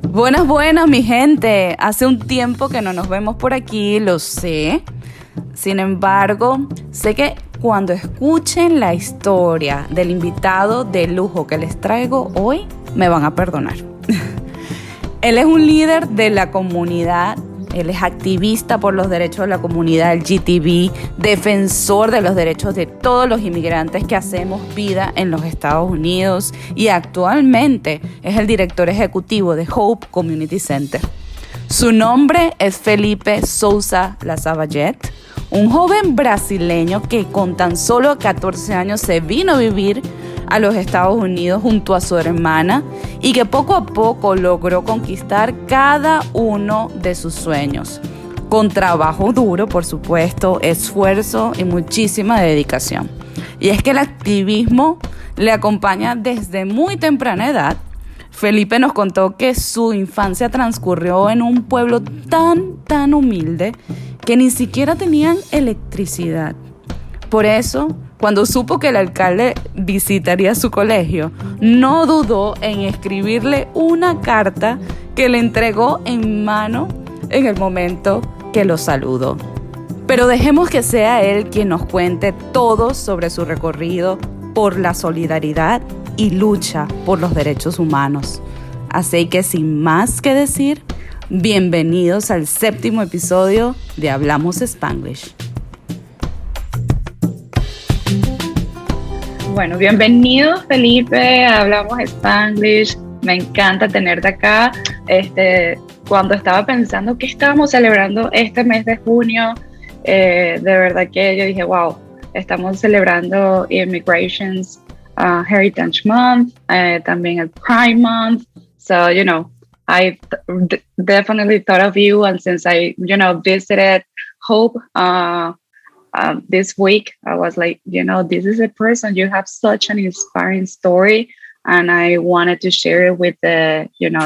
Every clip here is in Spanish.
Buenas, buenas, mi gente. Hace un tiempo que no nos vemos por aquí, lo sé. Sin embargo, sé que cuando escuchen la historia del invitado de lujo que les traigo hoy, me van a perdonar. Él es un líder de la comunidad. Él es activista por los derechos de la comunidad LGTB, defensor de los derechos de todos los inmigrantes que hacemos vida en los Estados Unidos y actualmente es el director ejecutivo de Hope Community Center. Su nombre es Felipe Souza Lasavallette, un joven brasileño que con tan solo 14 años se vino a vivir a los Estados Unidos junto a su hermana y que poco a poco logró conquistar cada uno de sus sueños, con trabajo duro, por supuesto, esfuerzo y muchísima dedicación. Y es que el activismo le acompaña desde muy temprana edad. Felipe nos contó que su infancia transcurrió en un pueblo tan humilde que ni siquiera tenían electricidad. Por eso, cuando supo que el alcalde visitaría su colegio, no dudó en escribirle una carta que le entregó en mano en el momento que lo saludó. Pero dejemos que sea él quien nos cuente todo sobre su recorrido por la solidaridad y lucha por los derechos humanos. Así que sin más que decir, bienvenidos al 7º episodio de Hablamos Spanglish. Bueno, bienvenido Felipe, Hablamos Spanglish. Me encanta tenerte acá. Cuando estaba pensando que estábamos celebrando este mes de junio, de verdad que yo dije, wow, estamos celebrando Immigration's Heritage Month, también el Pride Month. So, I definitely thought of you, and since I, visited Hope this week, I was like, this is a person, you have such an inspiring story, and I wanted to share it with the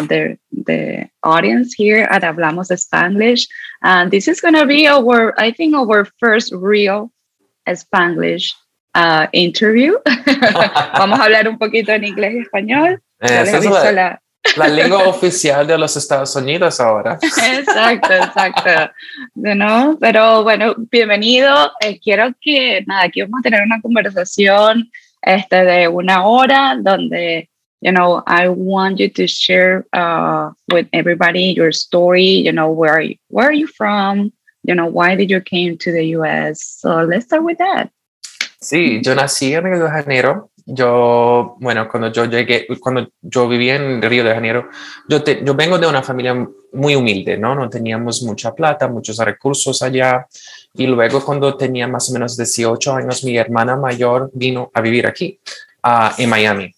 audience here at Hablamos Spanglish. And this is going to be our first real Spanglish interview. Vamos a hablar un poquito en inglés y español. Esa es la lengua oficial de los Estados Unidos ahora. Exacto. Pero bueno, bienvenido. Quiero que, aquí vamos a tener una conversación de 1 hora donde, I want you to share with everybody your story, where are you from, why did you came to the US? So let's start with that. Sí, yo nací en Río de Janeiro. Cuando yo vivía en Río de Janeiro, yo vengo de una familia muy humilde, ¿no? No teníamos mucha plata, muchos recursos allá. Y luego cuando tenía más o menos 18 años, mi hermana mayor vino a vivir aquí, en Miami.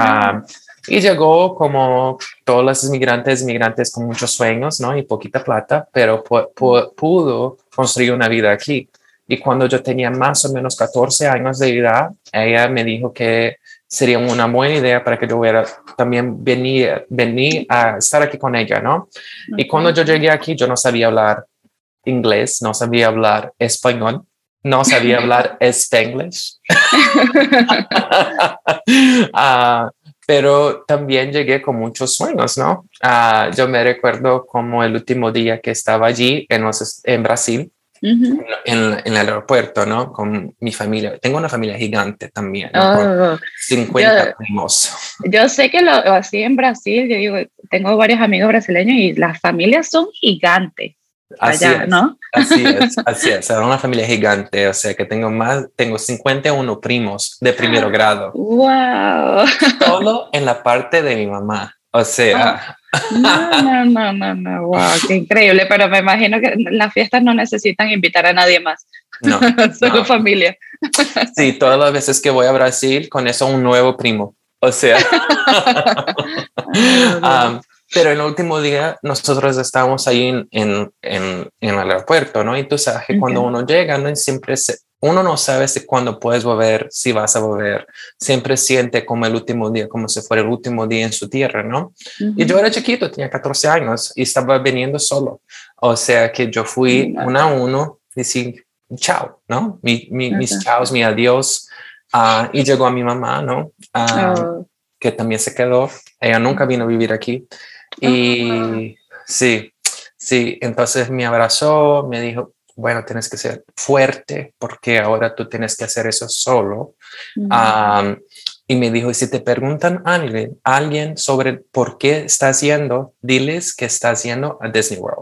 Y llegó como todos los inmigrantes con muchos sueños, ¿no? Y poquita plata, pero pudo construir una vida aquí. Y cuando yo tenía más o menos 14 años de edad, ella me dijo que sería una buena idea para que yo también venir a estar aquí con ella, ¿no? Okay. Y cuando yo llegué aquí, yo no sabía hablar inglés, no sabía hablar español, no sabía hablar Spanglish. Pero también llegué con muchos sueños, ¿no? Yo me recuerdo como el último día que estaba allí en Brasil. Uh-huh. En el aeropuerto, ¿no? Con mi familia. Tengo una familia gigante también, ¿no? Con 50 primos. Yo sé que así en Brasil, yo digo, tengo varios amigos brasileños y las familias son gigantes. Así allá, es, ¿no? así es. Era una familia gigante, o sea que tengo 51 primos de primero grado. ¡Wow! Todo en la parte de mi mamá, o sea... No, wow, qué increíble, pero me imagino que las fiestas no necesitan invitar a nadie más. No. Solo familia. Sí, todas las veces que voy a Brasil, con eso un nuevo primo, o sea. Pero el último día nosotros estábamos ahí en el aeropuerto, ¿no? Y tú sabes que cuando uno llega, ¿no? Uno no sabe si cuándo puedes volver, si vas a volver. Siempre siente como el último día, como si fuera el último día en su tierra, ¿no? Uh-huh. Y yo era chiquito, tenía 14 años y estaba viniendo solo. O sea que yo fui uno a uno y decir chao, ¿no? Mis chaos, mi adiós. Y llegó a mi mamá, ¿no? que también se quedó. Ella nunca vino a vivir aquí. Y sí, sí, entonces me abrazó, me dijo, bueno, tienes que ser fuerte porque ahora tú tienes que hacer eso solo. Y me dijo, y si te preguntan alguien sobre por qué estás yendo, diles que estás yendo a Disney World.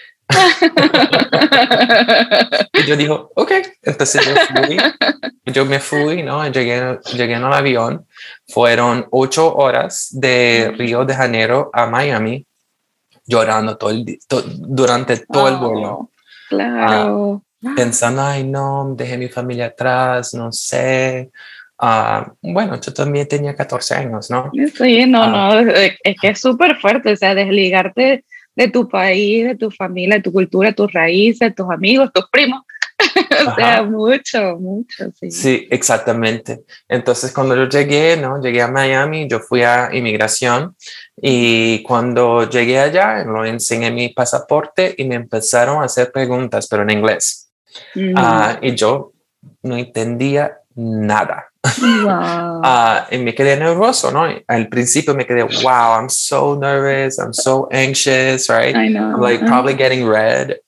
Y yo digo, ok, entonces yo me fui, ¿no? Llegué en el avión, fueron 8 horas de Río de Janeiro a Miami, llorando durante todo el vuelo. Claro. Pensando, ay, no, dejé mi familia atrás, no sé. Bueno, yo también tenía 14 años, ¿no? Sí, no, es que es súper fuerte, o sea, desligarte de tu país, de tu familia, de tu cultura, tus raíces, tus amigos, tus primos, o sea, mucho, sí. Sí, exactamente. Entonces, cuando yo llegué, ¿no? Llegué a Miami, yo fui a inmigración y cuando llegué allá, lo enseñé mi pasaporte y me empezaron a hacer preguntas, pero en inglés. Y yo no entendía nada. Wow. Y me quedé nervioso, ¿no? Al principio me quedé, wow, I'm so nervous, I'm so anxious, right? I know. I'm like probably getting red.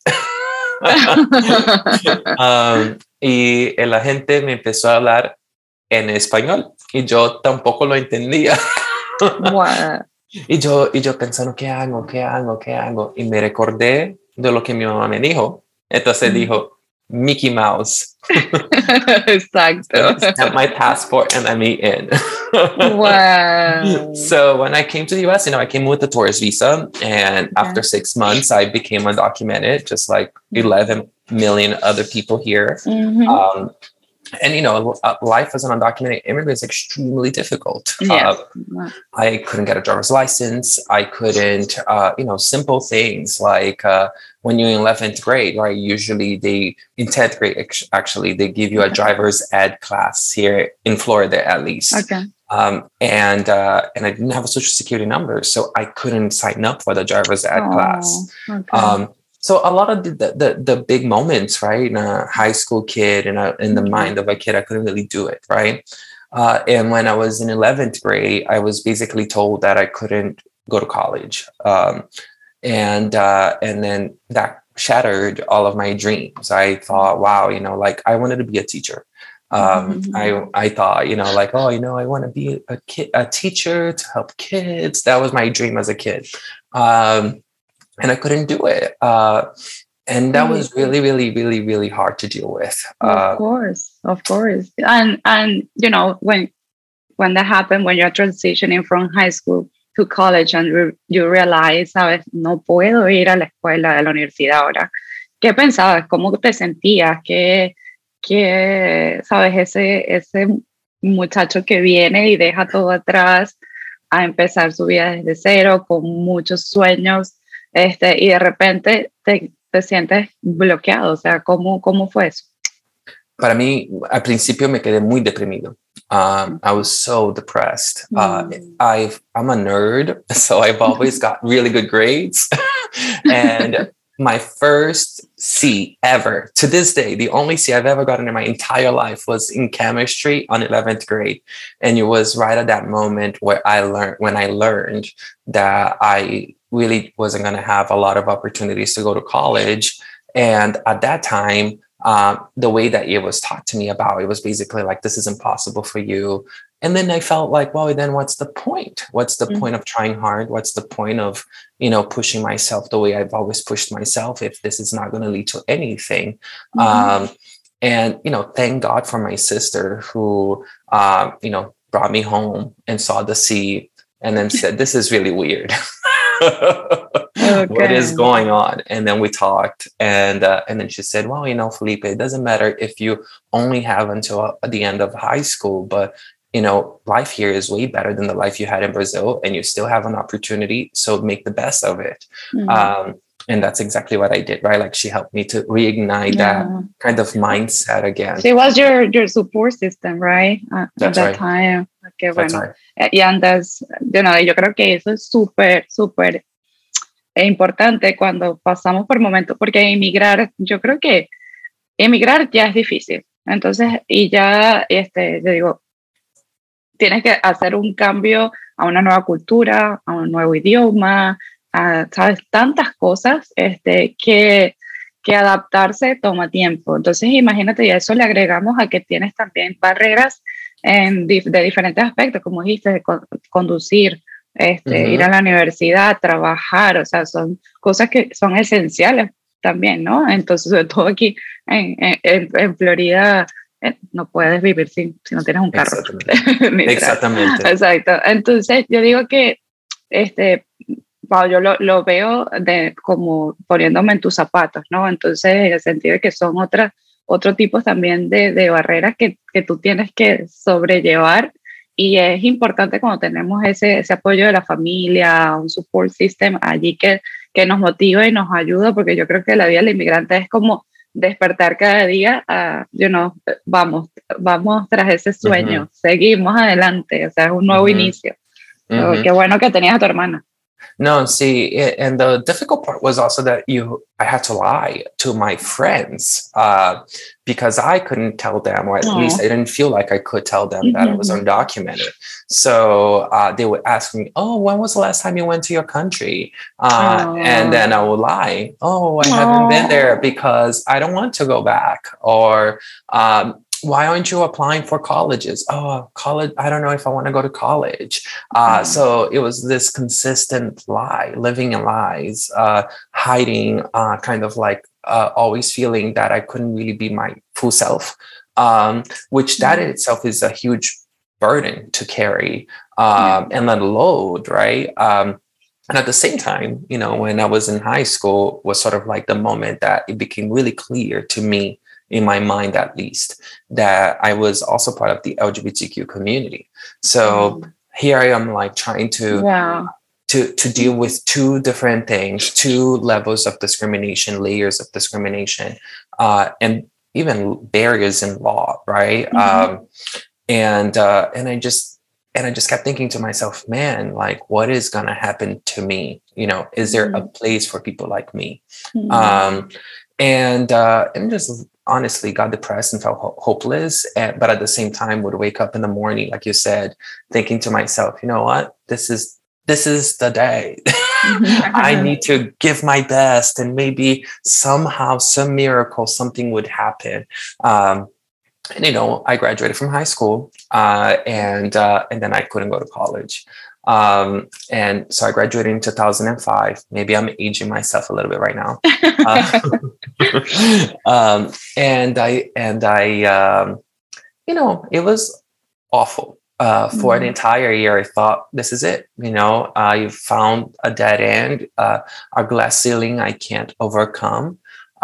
Y la gente me empezó a hablar en español y yo tampoco lo entendía. Wow. Y yo pensando, ¿qué hago? ¿Qué hago? ¿Qué hago? Y me recordé de lo que mi mamá me dijo. Entonces dijo, Mickey Mouse. Exacto. Stamp my passport and let me in. Wow. So when I came to the US, I came with a tourist visa. And after 6 months, I became undocumented, just like 11 million other people here. And life as an undocumented immigrant is extremely difficult. Yes. I couldn't get a driver's license. I couldn't, simple things like when you're in 11th grade, right? Usually in 10th grade, actually, they give you a driver's ed class here in Florida, at least. Okay. And I didn't have a social security number, so I couldn't sign up for the driver's ed class. Okay. So a lot of the big moments, right, in a high school kid and in the mind of a kid, I couldn't really do it, right? And when I was in 11th grade, I was basically told that I couldn't go to college. And then that shattered all of my dreams. I thought, wow, I wanted to be a teacher. I thought, I want to be a teacher to help kids. That was my dream as a kid. And I couldn't do it. And that was really, really, really, really hard to deal with. Of course. And when that happened, when you're transitioning from high school to college and you realize, sabes, no puedo ir a la escuela, a la universidad ahora. ¿Qué pensabas? ¿Cómo te sentías? ¿Qué sabes, ese muchacho que viene y deja todo atrás a empezar su vida desde cero con muchos sueños? Y de repente te sientes bloqueado, o sea, ¿cómo fue eso? Para mí, al principio me quedé muy deprimido. I was so depressed. I'm a nerd, so I've always got really good grades. And my first C ever, to this day, the only C I've ever gotten in my entire life was in chemistry on 11th grade. And it was right at that moment where when I learned that I really wasn't going to have a lot of opportunities to go to college. And at that time, the way that it was taught to me about, it was basically like, this is impossible for you. And then I felt like, well, then what's the point? What's the point of trying hard? What's the point of, pushing myself the way I've always pushed myself if this is not going to lead to anything? And, thank God for my sister who, brought me home and saw the sea and then said, this is really weird. What is going on? And then we talked and then she said, well, Felipe, it doesn't matter if you only have until the end of high school, but life here is way better than the life you had in Brazil and you still have an opportunity. So make the best of it. And that's exactly what I did, right? Like she helped me to reignite that kind of mindset again. She was your support system, right? At that time. Okay, That's bueno. right. Y antes, yo creo que eso es súper, súper importante cuando pasamos por momentos, porque yo creo que emigrar ya es difícil. Entonces, y ya, yo digo, tienes que hacer un cambio a una nueva cultura, a un nuevo idioma, sabes, tantas cosas que adaptarse toma tiempo. Entonces, imagínate, y a eso le agregamos a que tienes también barreras de diferentes aspectos, como dijiste, de conducir, ir a la universidad, trabajar, o sea, son cosas que son esenciales también, ¿no? Entonces, sobre todo aquí en Florida, no puedes vivir si no tienes un carro. Exactamente. Exacto. Entonces, yo digo que, wow, yo lo veo como poniéndome en tus zapatos, ¿no? Entonces, en el sentido de que son otros tipos también de barreras que tú tienes que sobrellevar, y es importante cuando tenemos ese apoyo de la familia, un support system allí que nos motiva y nos ayuda, porque yo creo que la vida del inmigrante es como despertar cada día, vamos tras ese sueño, seguimos adelante, o sea, es un nuevo inicio. So, qué bueno que tenías a tu hermana. No, see, and the difficult part was also that I had to lie to my friends because I couldn't tell them, or at least I didn't feel like I could tell them that I was undocumented. So they would ask me, "Oh, when was the last time you went to your country?" And then I would lie, "Oh, I haven't been there because I don't want to go back," or why aren't you applying for colleges? Oh, college, I don't know if I want to go to college. So it was this consistent lie, living in lies, hiding, kind of like always feeling that I couldn't really be my full self, which that in itself is a huge burden to carry and then load, right? And at the same time, when I was in high school was sort of like the moment that it became really clear to me, in my mind at least, that I was also part of the LGBTQ community. So here I am, like trying to deal with two different things, two levels of discrimination, layers of discrimination, and even barriers in law, right? And I just kept thinking to myself, man, like, what is gonna happen to me? Is there a place for people like me? And just honestly got depressed and felt hopeless. But at the same time would wake up in the morning, like you said, thinking to myself, you know what, this is the day. I need to give my best, and maybe somehow, some miracle, something would happen. And I graduated from high school, and then I couldn't go to college. And so I graduated in 2005. Maybe I'm aging myself a little bit right now. And I it was awful. For an entire year, I thought, this is it. You've found a dead end, a glass ceiling I can't overcome.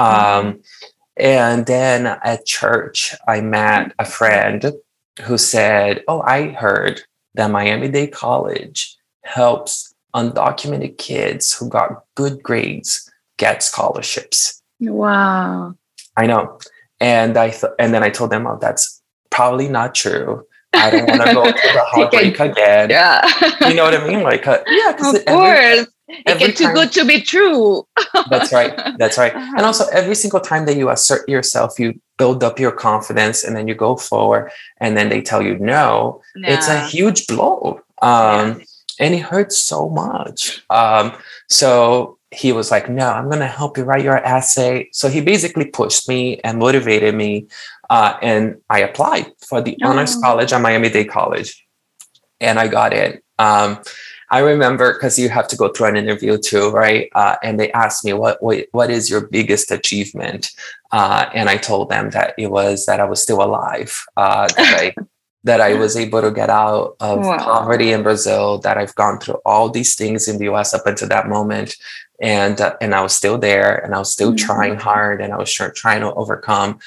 And then at church, I met a friend who said, "Oh, I heard that Miami-Dade College helps undocumented kids who got good grades get scholarships." Wow. I know. And then I told them, "Oh, that's probably not true. I don't want to go through the heartbreak again." Yeah. You know what I mean? Like, of course. It gets too good to be true. That's right. And also, every single time that you assert yourself, you build up your confidence, and then you go forward, and then they tell you no. It's a huge blow. And it hurts so much. So he was like, "No, I'm going to help you write your essay." So he basically pushed me and motivated me. And I applied for the honors college at Miami-Dade College, and I got it. I remember, because you have to go through an interview too, right? And they asked me, what is your biggest achievement? And I told them that it was that I was still alive, that I was able to get out of poverty in Brazil, that I've gone through all these things in the US up until that moment. And I was still there, and I was still trying hard, and I was trying to overcome.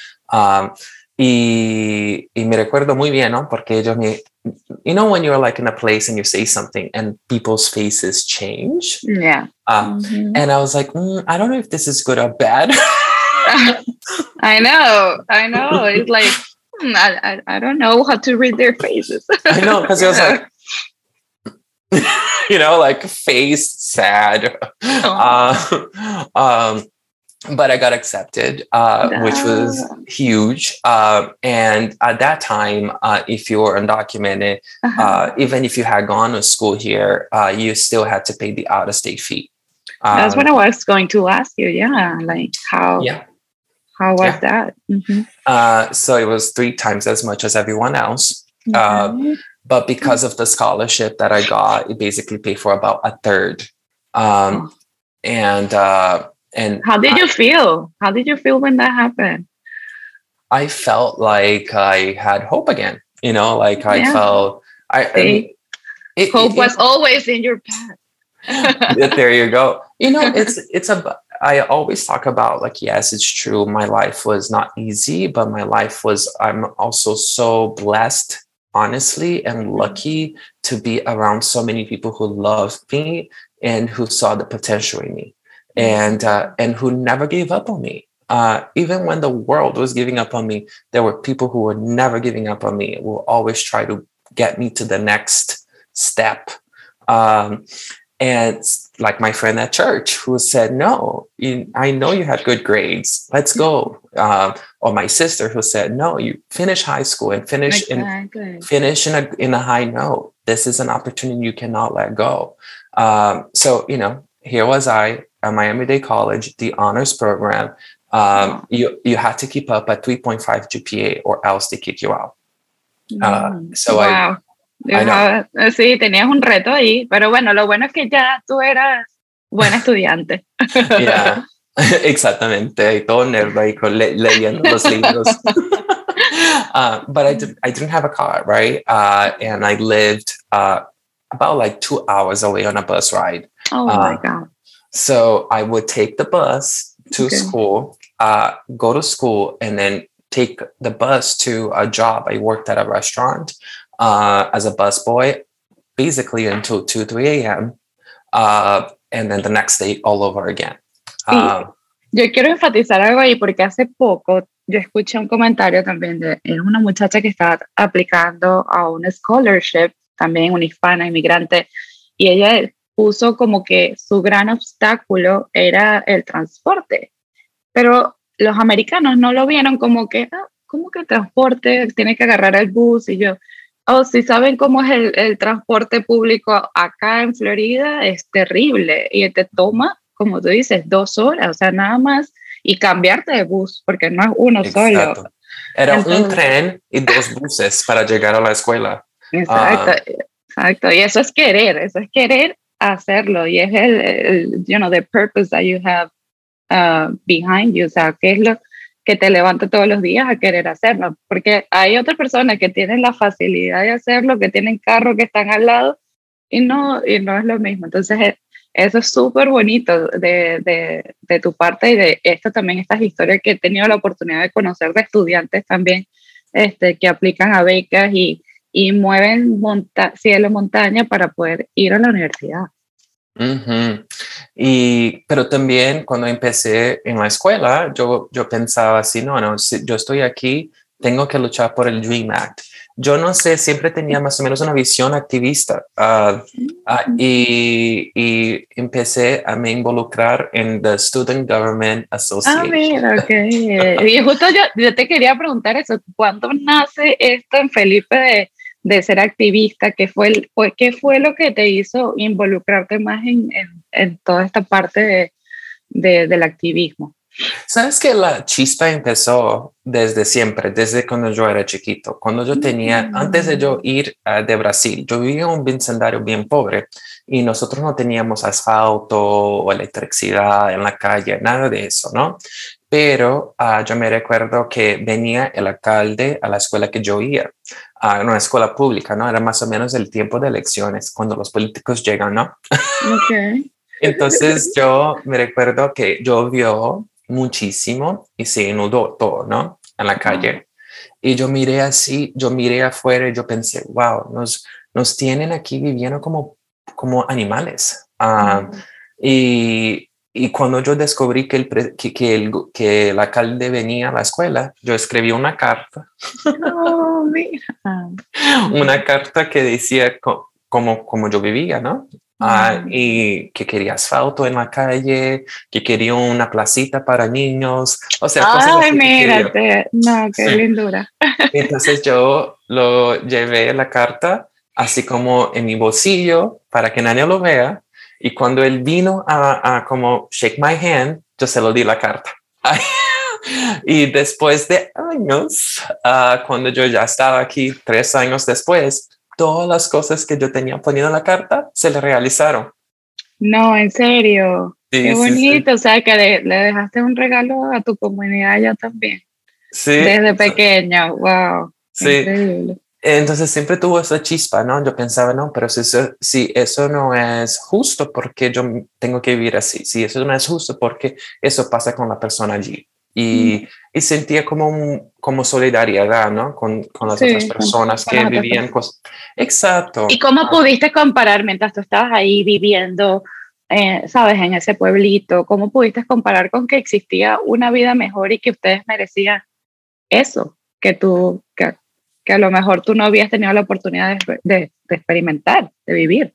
Y me recuerdo muy bien, ¿no? Porque ellos when you're like in a place and you say something and people's faces change. Yeah. And I was like, I don't know if this is good or bad. I know. It's like, I don't know how to read their faces. I know, because it was like, like face sad. but I got accepted, which was huge. And at that time, if you were undocumented, even if you had gone to school here, you still had to pay the out-of-state fee. That's what I was going to ask you. Yeah, like how was that? Mm-hmm. So it was 3 times as much as everyone else. But because of the scholarship that I got, it basically paid for about a third. And how did you feel? How did you feel when that happened? I felt like I had hope again. You know, like I felt. Hope was always in your path. There you go. You know, I always talk about, like, yes, it's true. My life was not easy, but I'm also so blessed, honestly, and lucky to be around so many people who love me and who saw the potential in me, and who never gave up on me. Even when the world was giving up on me, there were people who were never giving up on me, who will always try to get me to the next step. And like my friend at church who said, no, I know you had good grades. Let's go. Or my sister who said, no, you finish high school and finish in a high note. This is an opportunity you cannot let go. So, you know, here was I at Miami-Dade College, the honors program. You had to keep up at 3.5 GPA or else they kick you out. Sí, tenías un reto ahí, pero bueno, lo bueno es que ya tú eras buen estudiante. Yeah, exactamente. Y todo nerd ahí leyendo los libros. But I didn't have a car, right? And I lived about like 2 hours away on a bus ride. Oh my God. So I would take the bus to school, go to school, and then take the bus to a job. I worked at a restaurant as a busboy, basically until 2, 3 a.m. And then the next day all over again. Yo quiero enfatizar algo ahí porque hace poco yo escuché un comentario también de una muchacha que estaba aplicando a un scholarship, también una hispana, inmigrante, y ella puso como que su gran obstáculo era el transporte, pero los americanos no lo vieron como que, ¿cómo que el transporte? Tiene que agarrar el bus, y yo, si saben cómo es el transporte público acá en Florida, es terrible, y te toma, como tú dices, 2 horas, o sea, nada más, y cambiarte de bus, porque no es uno solo. Era un tren y 2 buses para llegar a la escuela. Exacto, y eso es querer hacerlo, y es the purpose that you have behind you, o sea, qué es lo que te levanta todos los días a querer hacerlo, porque hay otras personas que tienen la facilidad de hacerlo, que tienen carros que están al lado, y no es lo mismo. Entonces eso es súper bonito de tu parte, y de esto también, estas historias que he tenido la oportunidad de conocer de estudiantes también, que aplican a becas y mueven cielo, montaña para poder ir a la universidad. Uh-huh. Pero también cuando empecé en la escuela, yo pensaba así, si yo estoy aquí, tengo que luchar por el DREAM Act. Yo no sé, siempre tenía más o menos una visión activista y empecé a me involucrar en the Student Government Association. Mira, okay. Y justo yo te quería preguntar eso, ¿cuándo nace esto en Felipe de ser activista? ¿Qué fue lo que te hizo involucrarte más en toda esta parte del activismo? Sabes que la chispa empezó desde siempre, desde cuando yo era chiquito. Cuando yo tenía, antes de yo ir de Brasil, yo vivía en un vecindario bien pobre y nosotros no teníamos asfalto o electricidad en la calle, nada de eso, ¿no? Pero yo me recuerdo que venía el alcalde a la escuela que yo iba, a una escuela pública, ¿no? Era más o menos el tiempo de elecciones, cuando los políticos llegan, ¿no? Okay. Entonces yo me recuerdo que llovió muchísimo y se inundó todo, ¿no? En la calle. Y yo miré afuera y yo pensé, wow, nos tienen aquí viviendo como animales. Y cuando yo descubrí que el alcalde venía a la escuela, yo escribí una carta. Mira. Una carta que decía como yo vivía, ¿no? Y que quería asfalto en la calle, que quería una placita para niños, o sea, cosas Ay, así que quería. mírate, no, qué Sí. lindura. Entonces yo lo llevé la carta así como en mi bolsillo para que nadie lo vea. Y cuando él vino a como shake my hand, yo se lo di la carta. Y después de años, cuando yo ya estaba aquí, 3 años después, todas las cosas que yo tenía ponido en la carta se le realizaron. No, en serio, qué Sí, sí, sí. bonito, o sea, que le dejaste un regalo a tu comunidad ya también, Sí, desde pequeño, wow, sí. increíble. Entonces siempre tuvo esa chispa, ¿no? Yo pensaba, no, pero si eso no es justo, ¿por qué yo tengo que vivir así? Si eso no es justo, ¿por qué eso pasa con la persona allí? Y sentía como solidaridad, ¿no? Con las otras Sí, personas con que las otras vivían personas. cosas. Exacto. ¿Y cómo pudiste comparar mientras tú estabas ahí viviendo, sabes, en ese pueblito? ¿Cómo pudiste comparar con que existía una vida mejor y que ustedes merecían eso, que a lo mejor tú no habías tenido la oportunidad de experimentar, de vivir?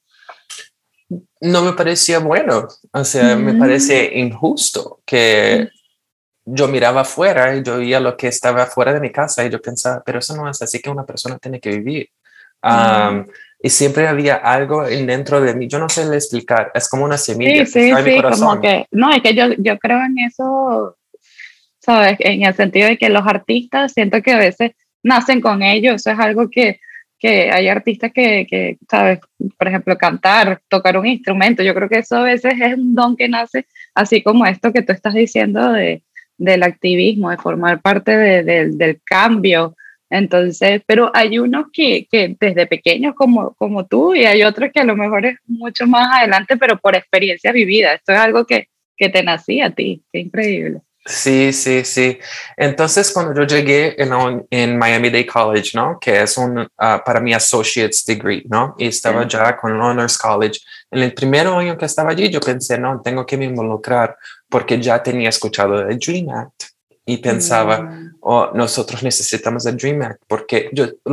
No me parecía bueno, o sea, me Mm, parece injusto que yo miraba afuera y yo veía lo que estaba afuera de mi casa y yo pensaba, pero eso no es así que una persona tiene que vivir. mm. Y siempre había algo en dentro de mí, yo no sé explicar, es como una Sí, semilla que sí, está en mi sí, como corazón. que, no, es que yo creo en eso, ¿sabes? En el sentido de que los artistas siento que a veces nacen con ello, eso es algo que hay artistas ¿sabes? Por ejemplo, cantar, tocar un instrumento, yo creo que eso a veces es un don que nace, así como esto que tú estás diciendo del activismo, de formar parte del cambio. Entonces, pero hay unos que desde pequeños como tú y hay otros que a lo mejor es mucho más adelante, pero por experiencia vivida. Esto es algo que te nacía a ti, qué increíble. Sí, sí, sí. Entonces, cuando yo llegué en Miami-Dade College, ¿no? Que es para mi associate's degree, ¿no? Y estaba Sí. ya con el Honors College. En el primer año que estaba allí, yo pensé, no, tengo que me involucrar porque ya tenía escuchado del Dream Act y pensaba, Mm, oh, nosotros necesitamos el Dream Act porque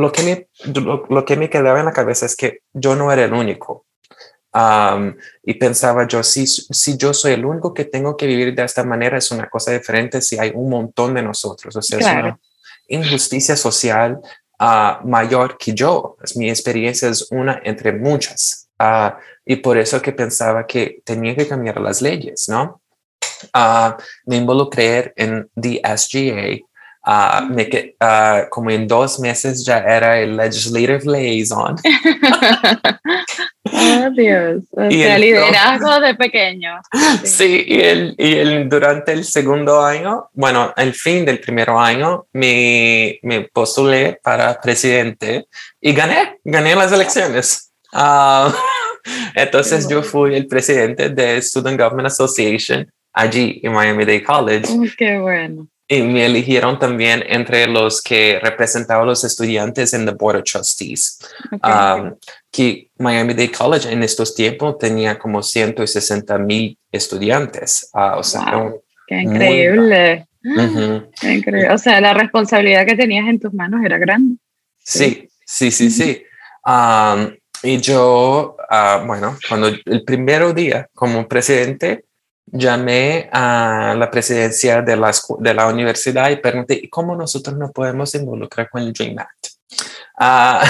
lo que me quedaba en la cabeza es que yo no era el único. Y pensaba yo, si yo soy el único que tengo que vivir de esta manera, es una cosa diferente si hay un montón de nosotros. O sea, es claro. una injusticia social mayor que yo. Mi experiencia es una entre muchas. Y por eso que pensaba que tenía que cambiar las leyes, ¿no? Me involucré en the SGA. Como en 2 meses ya era el Legislative Liaison. Oh, Dios. O Y sea, entonces, liderazgo de pequeño. Sí. sí, durante el segundo año, bueno, al fin del primer año, me postulé para presidente y gané las elecciones. Qué Entonces yo bueno. fui el presidente de Student Government Association allí en Miami-Dade College Oh, qué bueno. y me eligieron también entre los que representaban a los estudiantes en the Board of Trustees. Okay. Um, que Miami-Dade College en estos tiempos tenía como 160,000 estudiantes. O sea, era Wow. Qué muy grande. increíble. Ujú. Qué increíble. O sea, la responsabilidad que tenías en tus manos era grande. Sí. Sí, sí, sí, sí. Um, y yo, bueno, cuando el primer día como presidente, llamé a la presidencia de la universidad y pregunté, ¿y cómo nosotros nos podemos involucrar con el Dream Act? Ah,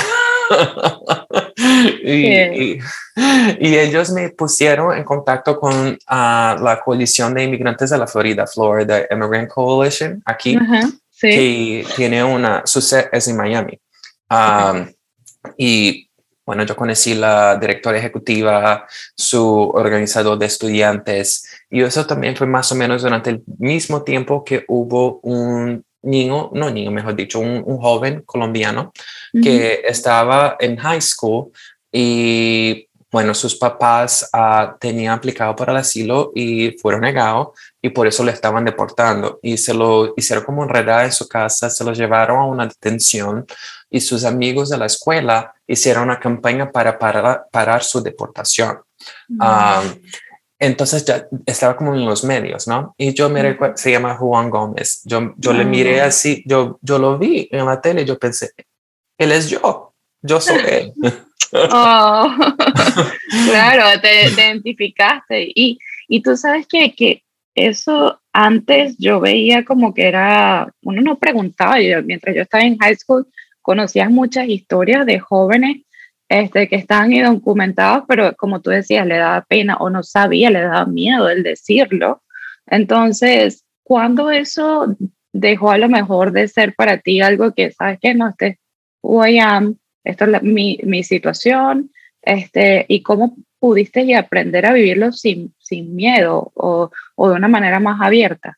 Que, y, y- y ellos me pusieron en contacto con la coalición de inmigrantes de la Florida Immigrant Coalition, aquí, ajá, sí. que tiene su sede es en Miami. Okay. Um, y bueno, yo conocí la directora ejecutiva, su organizador de estudiantes, y eso también fue más o menos durante el mismo tiempo que hubo un niño, no niño, mejor dicho, un joven colombiano Ujú. que estaba en high school y bueno, sus papás tenían aplicado para el asilo y fueron negados y por eso lo estaban deportando y se lo hicieron como enredar en su casa, se lo llevaron a una detención y sus amigos de la escuela hicieron una campaña para parar su deportación. Um, Mm, entonces ya estaba como en los medios, ¿no? Y yo me ujú. recuerdo, se llama Juan Gómez. Yo le miré Ah, así, yo lo vi en la tele y yo pensé, él es yo. yo soy él. Oh, claro, te identificaste. Y tú sabes que eso antes yo veía como que era, uno no preguntaba, mientras yo estaba en high school, conocías muchas historias de jóvenes que estaban indocumentados, pero como tú decías, le daba pena o no sabía, le daba miedo el decirlo. Entonces, ¿cuándo eso dejó a lo mejor de ser para ti algo que, sabes que no, este, who I am, esto es mi situación, y cómo pudiste y aprender a vivirlo sin miedo o de una manera más abierta?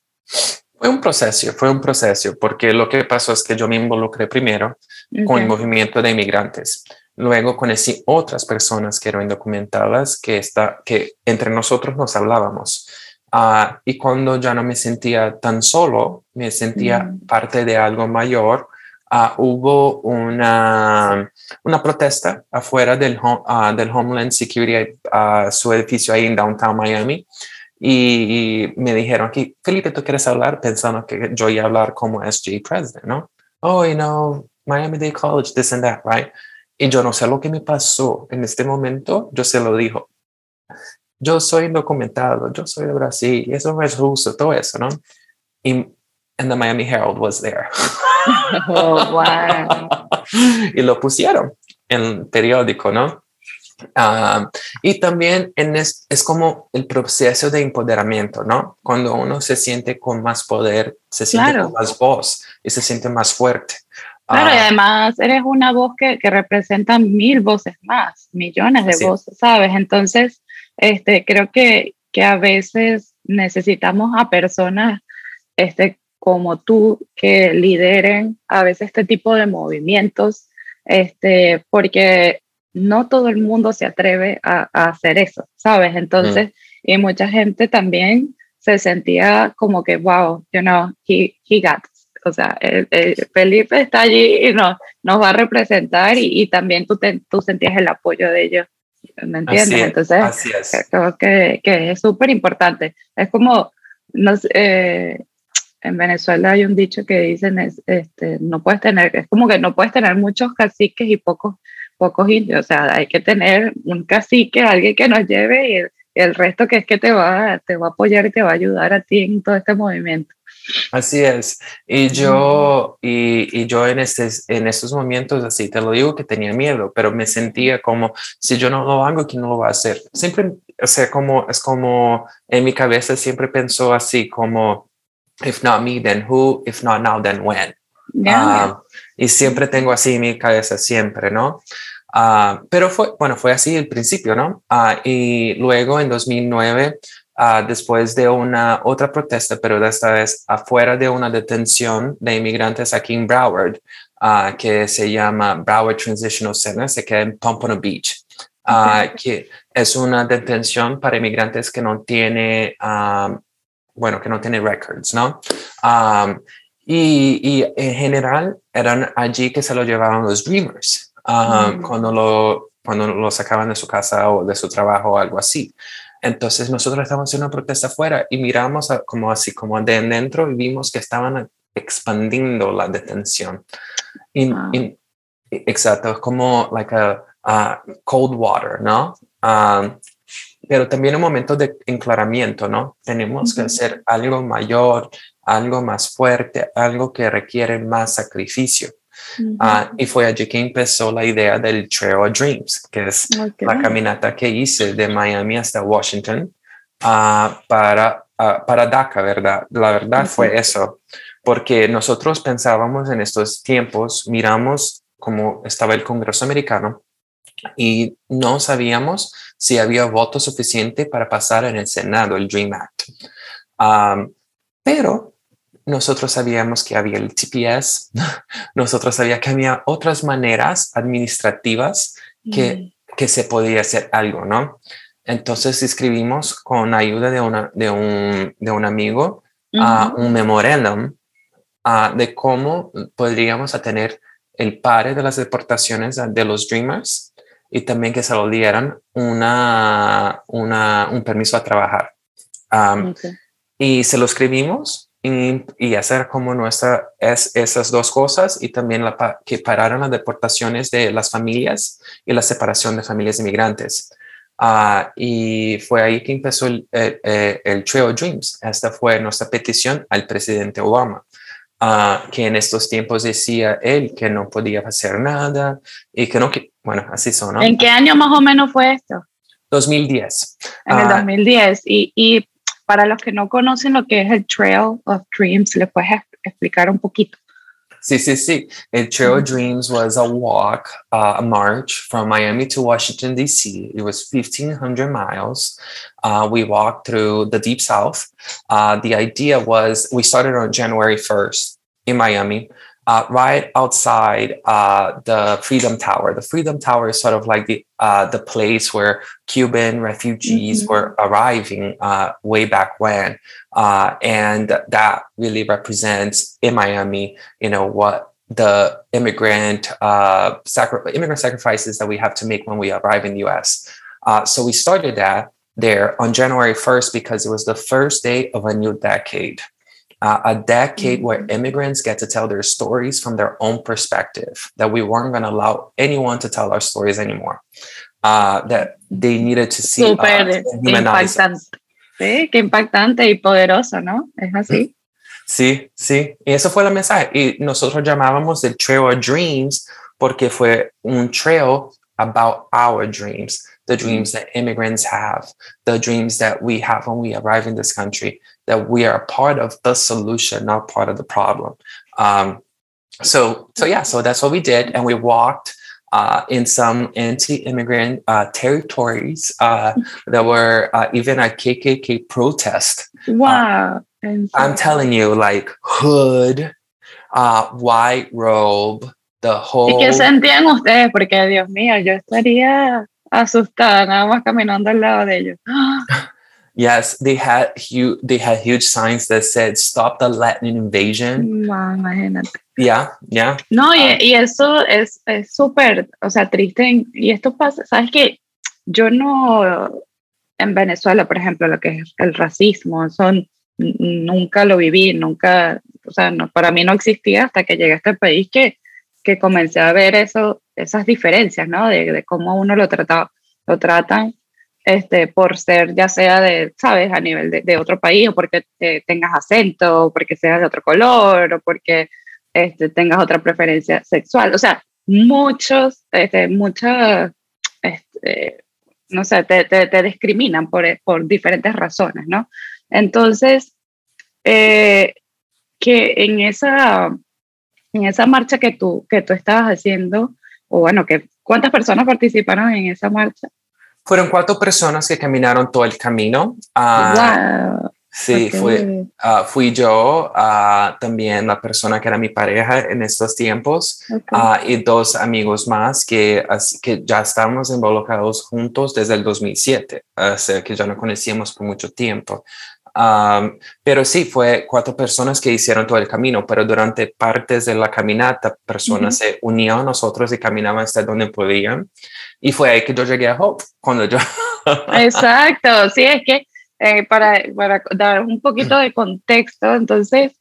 Fue un proceso, porque lo que pasó es que yo me involucré primero con el Okay. movimiento de inmigrantes. Luego conocí otras personas que eran indocumentadas que entre nosotros nos hablábamos. Y cuando ya no me sentía tan solo, me sentía Mm. parte de algo mayor. Hubo una protesta afuera del Homeland Security, su edificio ahí en Downtown Miami. Y me dijeron aquí, Felipe, ¿tú quieres hablar? Pensando que yo iba a hablar como SJ President, ¿no? Oh, Miami-Dade College, this and that, right? Y yo no sé lo que me pasó en este momento, yo se lo dijo. Yo soy indocumentado, yo soy de Brasil, y eso no es justo, todo eso, ¿no? Y and the Miami Herald was there. Oh, wow. Y lo pusieron en el periódico, ¿no? Y también es como el proceso de empoderamiento, ¿no? Cuando uno se siente con más poder, se siente con Claro, más voz y se siente más fuerte. claro, y Uh, además eres una voz que representa 1000 voces más, millones de así, voces, ¿sabes? Entonces, creo que a veces necesitamos a personas como tú que lideren a veces este tipo de movimientos, porque no todo el mundo se atreve a hacer eso, ¿sabes? mm, Entonces, y mucha gente también se sentía como que, wow, he got this. O sea, Felipe está allí y nos va a representar y también tú sentías el apoyo de ellos, ¿me entiendes? Entonces, así es. creo que es súper importante. Es como, no sé, en Venezuela hay un dicho que dicen no puedes tener, es como que no puedes tener muchos caciques y pocos indios, o sea, hay que tener un cacique, alguien que nos lleve y el resto que es que te va a apoyar y te va a ayudar a ti en todo este movimiento. Así es. Y yo en estos momentos, así te lo digo, que tenía miedo, pero me sentía como, si yo no lo hago, ¿quién no lo va a hacer? Siempre, o sea, es como en mi cabeza siempre pensó así como, if not me, then who? If not now, then when? Ya, Ah, y siempre tengo así en mi cabeza, siempre, ¿no? Pero fue así el principio, ¿no? Y luego en 2009, después de una otra protesta, pero de esta vez afuera de una detención de inmigrantes aquí en Broward, que se llama Broward Transitional Center, se queda en Pompano Beach, que es una detención para inmigrantes que no tiene, que no tiene records, ¿no? Um, y en general eran allí que se lo llevaban los Dreamers, cuando lo sacaban de su casa o de su trabajo o algo así. Entonces nosotros estábamos haciendo una protesta afuera y miramos como así, como de dentro y vimos que estaban expandiendo la detención. Exacto, es como like a cold water, ¿no? Pero también un momento de enclaramiento, ¿no? Tenemos que hacer algo mayor, algo más fuerte, algo que requiere más sacrificio. Y fue allí que empezó la idea del Trail of Dreams, que es la okay. caminata que hice de Miami hasta Washington, para DACA, ¿verdad? La verdad Okay. fue eso, porque nosotros pensábamos en estos tiempos, miramos cómo estaba el Congreso americano y no sabíamos si había voto suficiente para pasar en el Senado el Dream Act. Pero nosotros sabíamos que había el TPS, nosotros sabíamos que había otras maneras administrativas que, Mm. que se podía hacer algo, ¿no? Entonces escribimos con ayuda de un amigo un memorándum de cómo podríamos tener el pare de las deportaciones de los Dreamers y también que se lo dieran un permiso a trabajar. Um, Okay. y se lo escribimos y hacer como esas dos cosas, y también que pararon las deportaciones de las familias y la separación de familias inmigrantes. Y fue ahí que empezó el Trail Dreams. Esta fue nuestra petición al presidente Obama, que en estos tiempos decía él que no podía hacer nada y que no, bueno, así son, ¿no? ¿En qué año más o menos fue esto? 2010. En el 2010. Y para los que no conocen lo que es el Trail of Dreams, ¿le puedes explicar un poquito? Sí, sí, sí. El Trail of Dreams was a walk, a march from Miami to Washington, D.C. It was 1,500 miles. We walked through the Deep South. The idea was we started on January 1st in Miami, right outside the Freedom Tower. The Freedom Tower is sort of like the place where Cuban refugees were arriving way back when. And that really represents in Miami, what the immigrant sacrifices that we have to make when we arrive in the U.S. So we started that there on January 1st because it was the first day of a new decade. A decade where immigrants get to tell their stories from their own perspective, that we weren't going to allow anyone to tell our stories anymore, that they needed to see Súper impactante. Sí, qué impactante y poderoso, ¿no? Es así. Sí, sí, y eso fue el mensaje. Y nosotros llamábamos el Trail of Dreams porque fue un trail about our dreams, the dreams that immigrants have, the dreams that we have when we arrive in this country, that we are part of the solution, not part of the problem. So that's what we did. And we walked in some anti-immigrant territories that were even a KKK protest. Wow. I'm telling you, like hood, white robe, the whole... ¿Y qué sentían ustedes? Porque, Dios mío, yo estaría asustada nada más caminando al lado de ellos. Yes, they had huge signs that said "Stop the Latin invasion." No, imagínate. Yeah. No, y eso es súper, o sea, triste. Y esto pasa, ¿sabes qué? Yo no, en Venezuela, por ejemplo, lo que es el racismo, nunca lo viví, nunca, o sea, no, para mí no existía hasta que llegué a este país que comencé a ver esas diferencias, ¿no? De cómo uno lo tratan por ser ya sea ¿sabes? A nivel de otro país, o porque tengas acento, o porque seas de otro color, o porque tengas otra preferencia sexual. O sea, muchas, no sé, te discriminan por diferentes razones, ¿no? Entonces, que en esa marcha que tú estabas haciendo, o bueno, ¿cuántas personas participaron en esa marcha? Fueron 4 personas que caminaron todo el camino. Wow. Sí, Okay. fui yo, también la persona que era mi pareja en estos tiempos, Okay. y 2 amigos más que ya estábamos involucrados juntos desde el 2007, o sea, que ya no conocíamos por mucho tiempo. Pero sí, fue 4 personas que hicieron todo el camino, pero durante partes de la caminata, personas se unían a nosotros y caminaban hasta donde podían. Y fue ahí que yo llegué a Hope, cuando yo... Exacto, sí, es que para dar un poquito de contexto, entonces,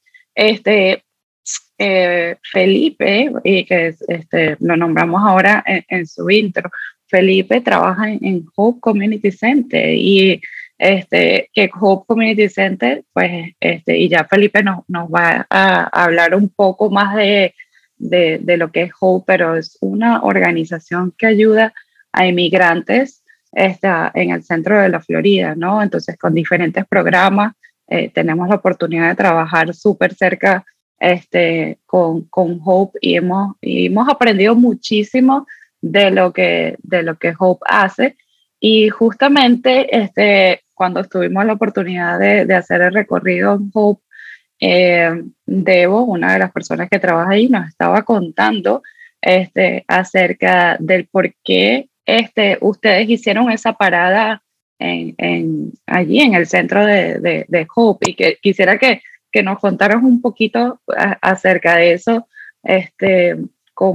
Felipe, y que lo nombramos ahora en su intro, Felipe trabaja en Hope Community Center, y que Hope Community Center, pues, y ya Felipe nos va a hablar un poco más de lo que es Hope, pero es una organización que ayuda a inmigrantes en el centro de la Florida, ¿no? Entonces, con diferentes programas, tenemos la oportunidad de trabajar súper cerca con Hope, y hemos aprendido muchísimo de lo que Hope hace. Y justamente cuando tuvimos la oportunidad de hacer el recorrido en Hope, Debo, una de las personas que trabaja ahí, nos estaba contando acerca del por qué ustedes hicieron esa parada allí en el centro de Hope, y que quisiera que nos contaras un poquito acerca de eso,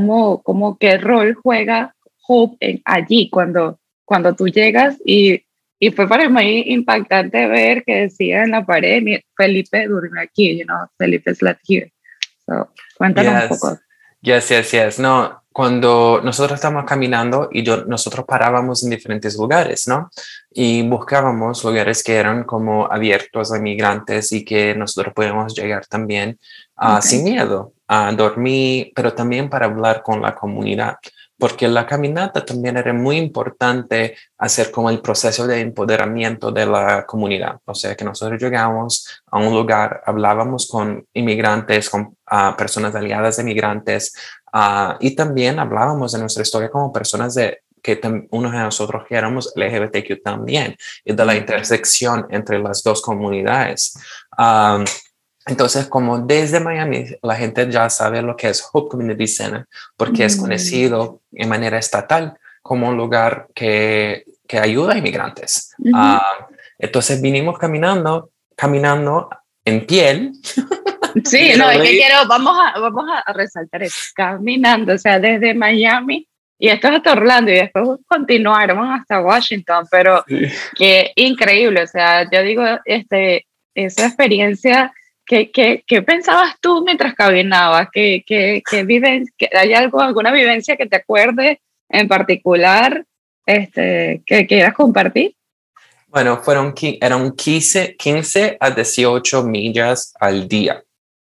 qué rol juega Hope allí cuando tú llegas y y fue para mí impactante ver que decía en la pared, Felipe durmió aquí, Felipe slept here. So, cuéntanos un poco. Yes. No, cuando nosotros estábamos caminando y nosotros parábamos en diferentes lugares, ¿no? Y buscábamos lugares que eran como abiertos a migrantes y que nosotros podíamos llegar también sin miedo a dormir, pero también para hablar con la comunidad. Porque la caminata también era muy importante hacer como el proceso de empoderamiento de la comunidad. O sea, que nosotros llegamos a un lugar, hablábamos con inmigrantes, con personas aliadas de migrantes, y también hablábamos de nuestra historia como personas que unos de nosotros que éramos LGBTQ también, y de la intersección entre las dos comunidades. Entonces, como desde Miami, la gente ya sabe lo que es Hope Community Center, porque es conocido de manera estatal como un lugar que ayuda a inmigrantes. Entonces, vinimos caminando en piel. Sí, no, es que vamos a resaltar eso, caminando, o sea, desde Miami, y esto es hasta Orlando, y después continuaron hasta Washington, pero qué increíble, o sea, yo digo, esa experiencia. ¿Qué pensabas tú mientras caminabas? ¿Hay alguna vivencia que te acuerdes en particular que quieras compartir? Bueno, eran 15 a 18 millas al día.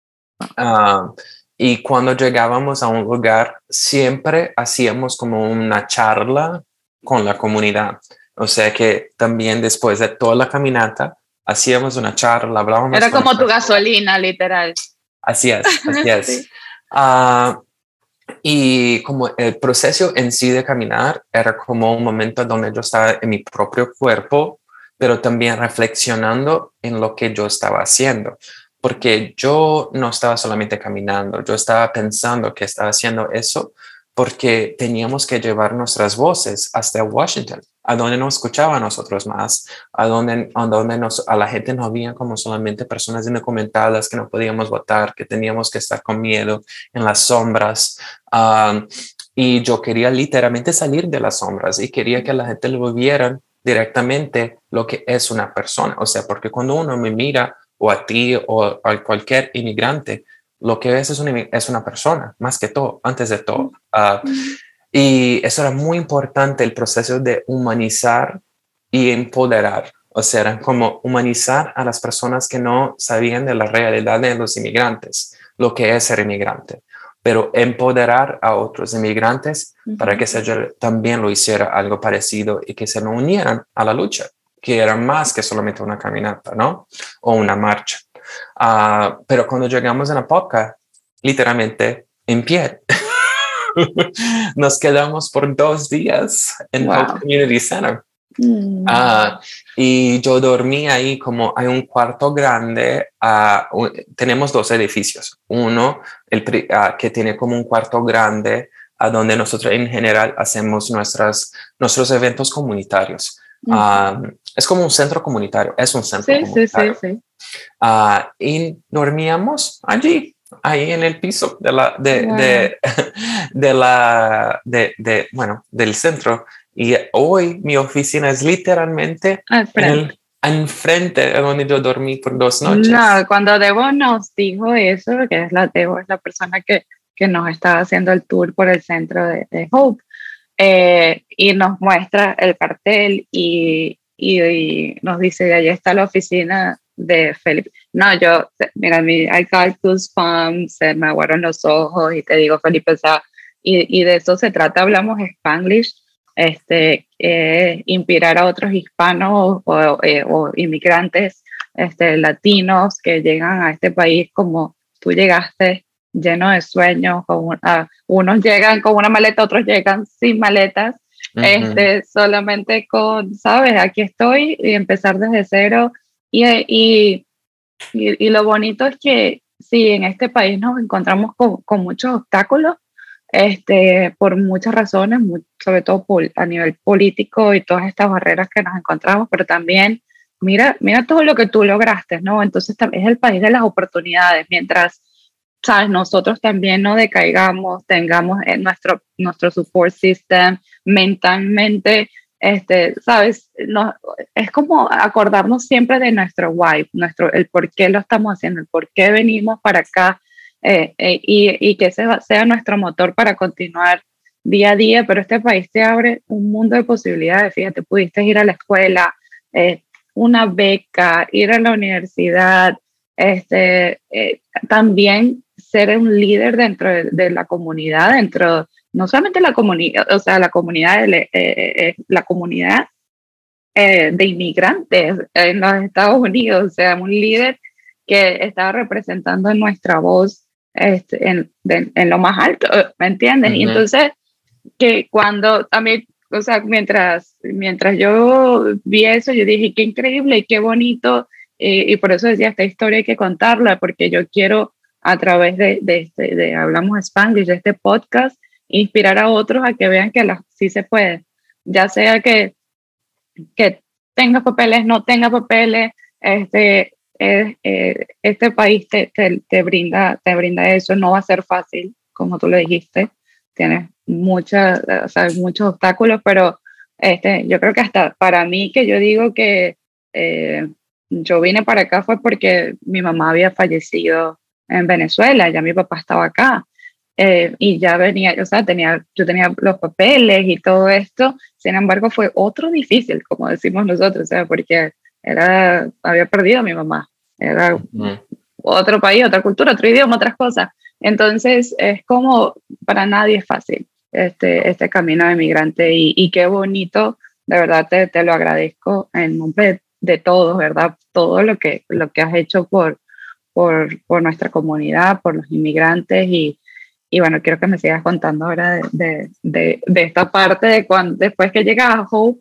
Y cuando llegábamos a un lugar, siempre hacíamos como una charla con la comunidad. O sea que también después de toda la caminata, hacíamos una charla, hablábamos. Era como tu gasolina, literal. Así es. Sí. Y como el proceso en sí de caminar era como un momento donde yo estaba en mi propio cuerpo, pero también reflexionando en lo que yo estaba haciendo. Porque yo no estaba solamente caminando, yo estaba pensando que estaba haciendo eso porque teníamos que llevar nuestras voces hasta Washington, a donde nos escuchaba a nosotros más, a donde a la gente nos veía como solamente personas indocumentadas que no podíamos votar, que teníamos que estar con miedo en las sombras. Y yo quería literalmente salir de las sombras y quería que la gente lo viera directamente lo que es una persona. O sea, porque cuando uno me mira, o a ti o a cualquier inmigrante, lo que ves es una persona, más que todo, antes de todo. Y eso era muy importante, el proceso de humanizar y empoderar. O sea, era como humanizar a las personas que no sabían de la realidad de los inmigrantes, lo que es ser inmigrante, pero empoderar a otros inmigrantes para que también lo hiciera algo parecido y que se unieran a la lucha, que era más que solamente una caminata, ¿no? O una marcha. Pero cuando llegamos a la Apopka, literalmente en pie, nos quedamos por 2 días en Hope Community Center. Y yo dormí ahí como hay un cuarto grande. Tenemos 2 edificios. Uno que tiene como un cuarto grande donde nosotros en general hacemos nuestros eventos comunitarios. Es como un centro comunitario, es un centro comunitario. Sí. Y dormíamos ahí en el piso del centro. Y hoy mi oficina es literalmente enfrente de donde yo dormí por 2 noches. No, cuando Debo nos dijo eso, que Debo es la persona que nos estaba haciendo el tour por el centro de Hope, y nos muestra el cartel y nos dice, allá está la oficina de Felipe. No, mira, I got goosebumps, se me aguaron los ojos y te digo, Felipe, o sea, y de eso se trata, hablamos Spanglish, inspirar a otros hispanos o inmigrantes latinos que llegan a este país como tú llegaste, lleno de sueños, unos llegan con una maleta, otros llegan sin maletas, solamente sabes, aquí estoy y empezar desde cero y lo bonito es que sí, en este país nos encontramos con muchos obstáculos, por muchas razones, sobre todo a nivel político y todas estas barreras que nos encontramos, pero también mira todo lo que tú lograste, ¿no? Entonces es el país de las oportunidades, mientras, ¿sabes? Nosotros también no decaigamos, tengamos nuestro support system mentalmente, ¿sabes? No, es como acordarnos siempre de nuestro why, el por qué lo estamos haciendo, el por qué venimos para acá, y que ese sea nuestro motor para continuar día a día, pero este país te abre un mundo de posibilidades. Fíjate, pudiste ir a la escuela, eh, una beca, ir a la universidad, también ser un líder dentro de la comunidad, dentro, no solamente la comunidad, o sea, la comunidad, la comunidad de inmigrantes en los Estados Unidos, o sea, un líder que estaba representando nuestra voz en lo más alto, ¿me entiendes? Y entonces, que cuando a mí, o sea, mientras yo vi eso, yo dije, qué increíble y qué bonito, y por eso decía, esta historia hay que contarla, porque yo quiero, a través de Hablamos Spanglish, de este podcast, inspirar a otros a que vean que sí se puede, ya sea que tengas papeles, no tengas papeles, este país te brinda eso. No va a ser fácil, como tú lo dijiste, tienes o sea, muchos obstáculos, pero yo creo que hasta para mí, que yo digo que yo vine para acá fue porque mi mamá había fallecido en Venezuela, ya mi papá estaba acá. Y ya venía, o sea, yo tenía los papeles y todo esto. Sin embargo, fue otro difícil, como decimos nosotros, o sea, porque había perdido a mi mamá, era otro país, otra cultura, otro idioma, otras cosas. Entonces, es como, para nadie es fácil este camino de migrante, y qué bonito, de verdad te lo agradezco en nombre de todos, ¿verdad? Todo lo que has hecho por nuestra comunidad, por los inmigrantes, y bueno, quiero que me sigas contando ahora de esta parte de después que llegas a Hope,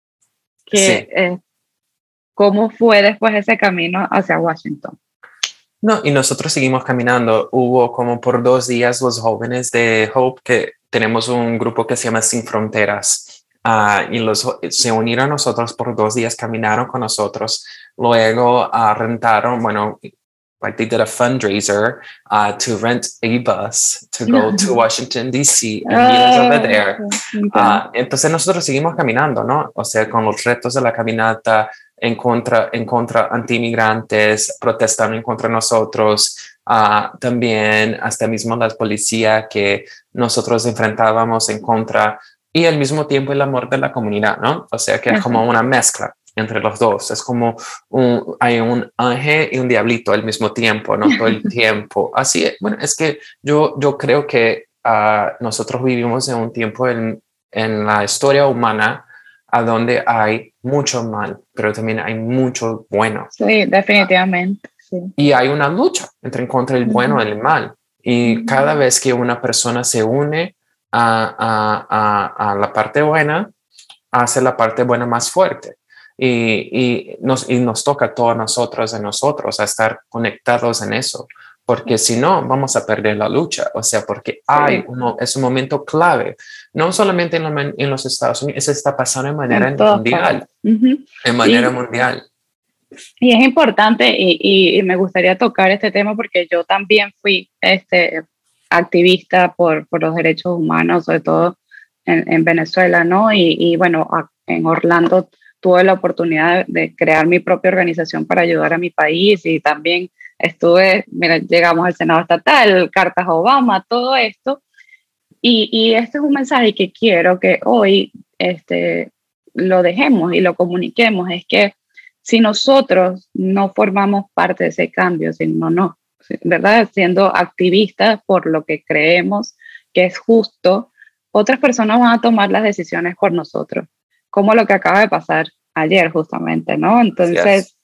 cómo fue después ese camino hacia Washington. No, y nosotros seguimos caminando. Hubo como por 2 días los jóvenes de Hope, que tenemos un grupo que se llama Sin Fronteras, y se unieron a nosotros por 2 días, caminaron con nosotros. Luego rentaron, bueno, like they did a fundraiser to rent a bus to go to Washington, D.C. and meet us over there. Entonces nosotros seguimos caminando, ¿no? O sea, con los retos de la caminata, en contra anti-inmigrantes, protestando en contra de nosotros, también hasta mismo la policía que nosotros enfrentábamos en contra, y al mismo tiempo el amor de la comunidad, ¿no? O sea que es como una mezcla entre los dos, es como hay un ángel y un diablito al mismo tiempo, ¿no? Todo el tiempo. Así es. Bueno, es que yo creo que nosotros vivimos en un tiempo en la historia humana a donde hay mucho mal, pero también hay mucho bueno. Sí, definitivamente. Sí. Y hay una lucha en contra del bueno y el mal. Y cada vez que una persona se une a la parte buena, hace la parte buena más fuerte. Y nos toca a todos nosotros a estar conectados en eso, porque si no vamos a perder la lucha. O sea, porque es un momento clave, no solamente en los Estados Unidos, eso está pasando de manera mundial, en manera mundial. Y es importante, y me gustaría tocar este tema porque yo también fui activista por los derechos humanos, sobre todo en Venezuela, ¿no? Y bueno, en Orlando tuve la oportunidad de crear mi propia organización para ayudar a mi país, y también llegamos al Senado Estatal, cartas a Obama, todo esto. Y este es un mensaje que quiero que hoy lo dejemos y lo comuniquemos, es que si nosotros no formamos parte de ese cambio, ¿verdad? Siendo activistas por lo que creemos que es justo, otras personas van a tomar las decisiones por nosotros, como lo que acaba de pasar ayer justamente, ¿no? Entonces,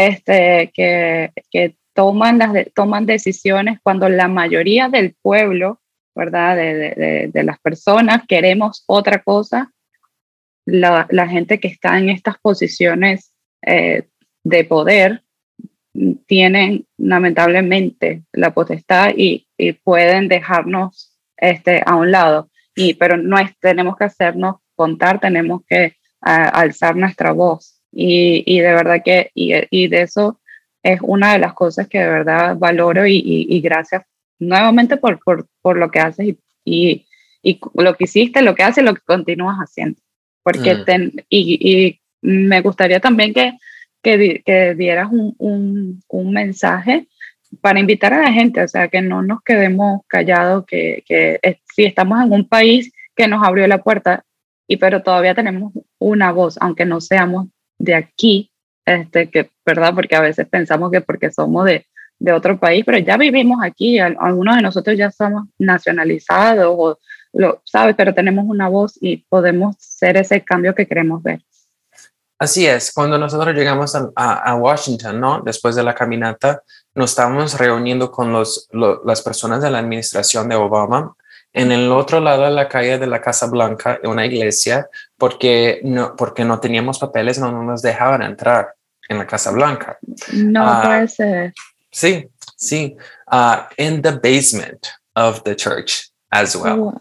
que toman decisiones cuando la mayoría del pueblo, ¿verdad? De las personas queremos otra cosa. La gente que está en estas posiciones de poder tienen lamentablemente la potestad y pueden dejarnos a un lado, pero tenemos que hacernos contar, tenemos que alzar nuestra voz, y de verdad que y de eso es una de las cosas que de verdad valoro, y gracias nuevamente por lo que haces y lo que hiciste, lo que haces, lo que continúas haciendo. porque y me gustaría también que dieras un mensaje para invitar a la gente, o sea, que no nos quedemos callados, si estamos en un país que nos abrió la puerta, pero todavía tenemos una voz, aunque no seamos de aquí, ¿verdad? Porque a veces pensamos que porque somos de otro país, pero ya vivimos aquí, algunos de nosotros ya somos nacionalizados, ¿sabes? Pero tenemos una voz y podemos ser ese cambio que queremos ver. Así es, cuando nosotros llegamos a Washington, ¿no? Después de la caminata, nos estábamos reuniendo con las personas de la administración de Obama en el otro lado de la calle de la Casa Blanca, en una iglesia, porque no teníamos papeles, no nos dejaban entrar en la Casa Blanca. No puede ser. Sí. In the basement of the church as well.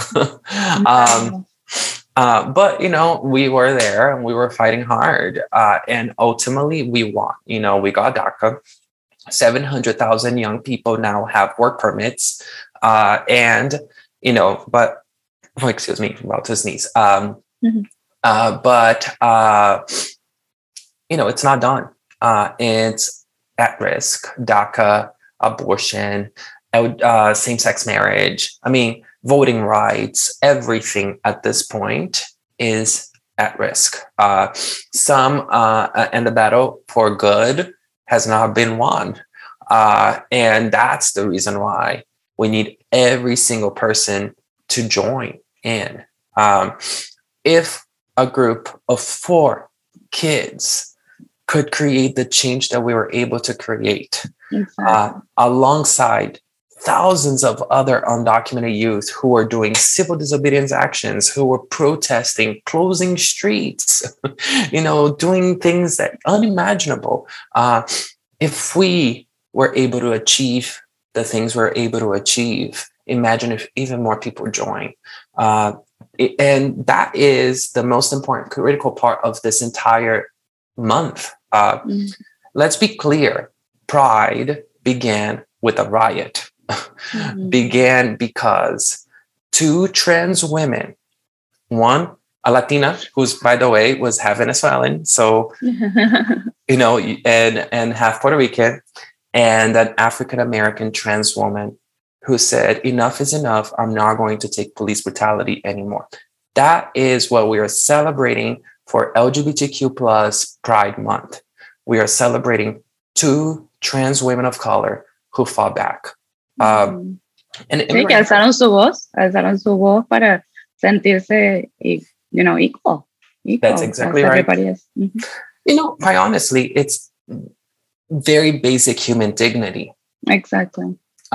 But, we were there and we were fighting hard. And ultimately we won. We got DACA. 700,000 young people now have work permits. Excuse me, I'm about to sneeze. It's not done. It's at risk. DACA, abortion, same-sex marriage. I mean, voting rights, everything at this point is at risk. And the battle for good has not been won. And that's the reason why we need every single person to join in. If a group of 4 kids could create the change that we were able to create, alongside thousands of other undocumented youth who are doing civil disobedience actions, who were protesting, closing streets, doing things that unimaginable. If we were able to achieve the things we're able to achieve, imagine if even more people join. And that is the most important, critical part of this entire month. Let's be clear. Pride began with a riot. Began because 2 trans women, one a Latina, who's, by the way, was half Venezuelan, so and half Puerto Rican, and an African American trans woman who said, enough is enough. I'm not going to take police brutality anymore. That is what we are celebrating for LGBTQ plus Pride Month. We are celebrating 2 trans women of color who fought back. Que alzaron su voz para sentirse, equal. That's exactly right. Quite honestly, it's very basic human dignity. Exactly.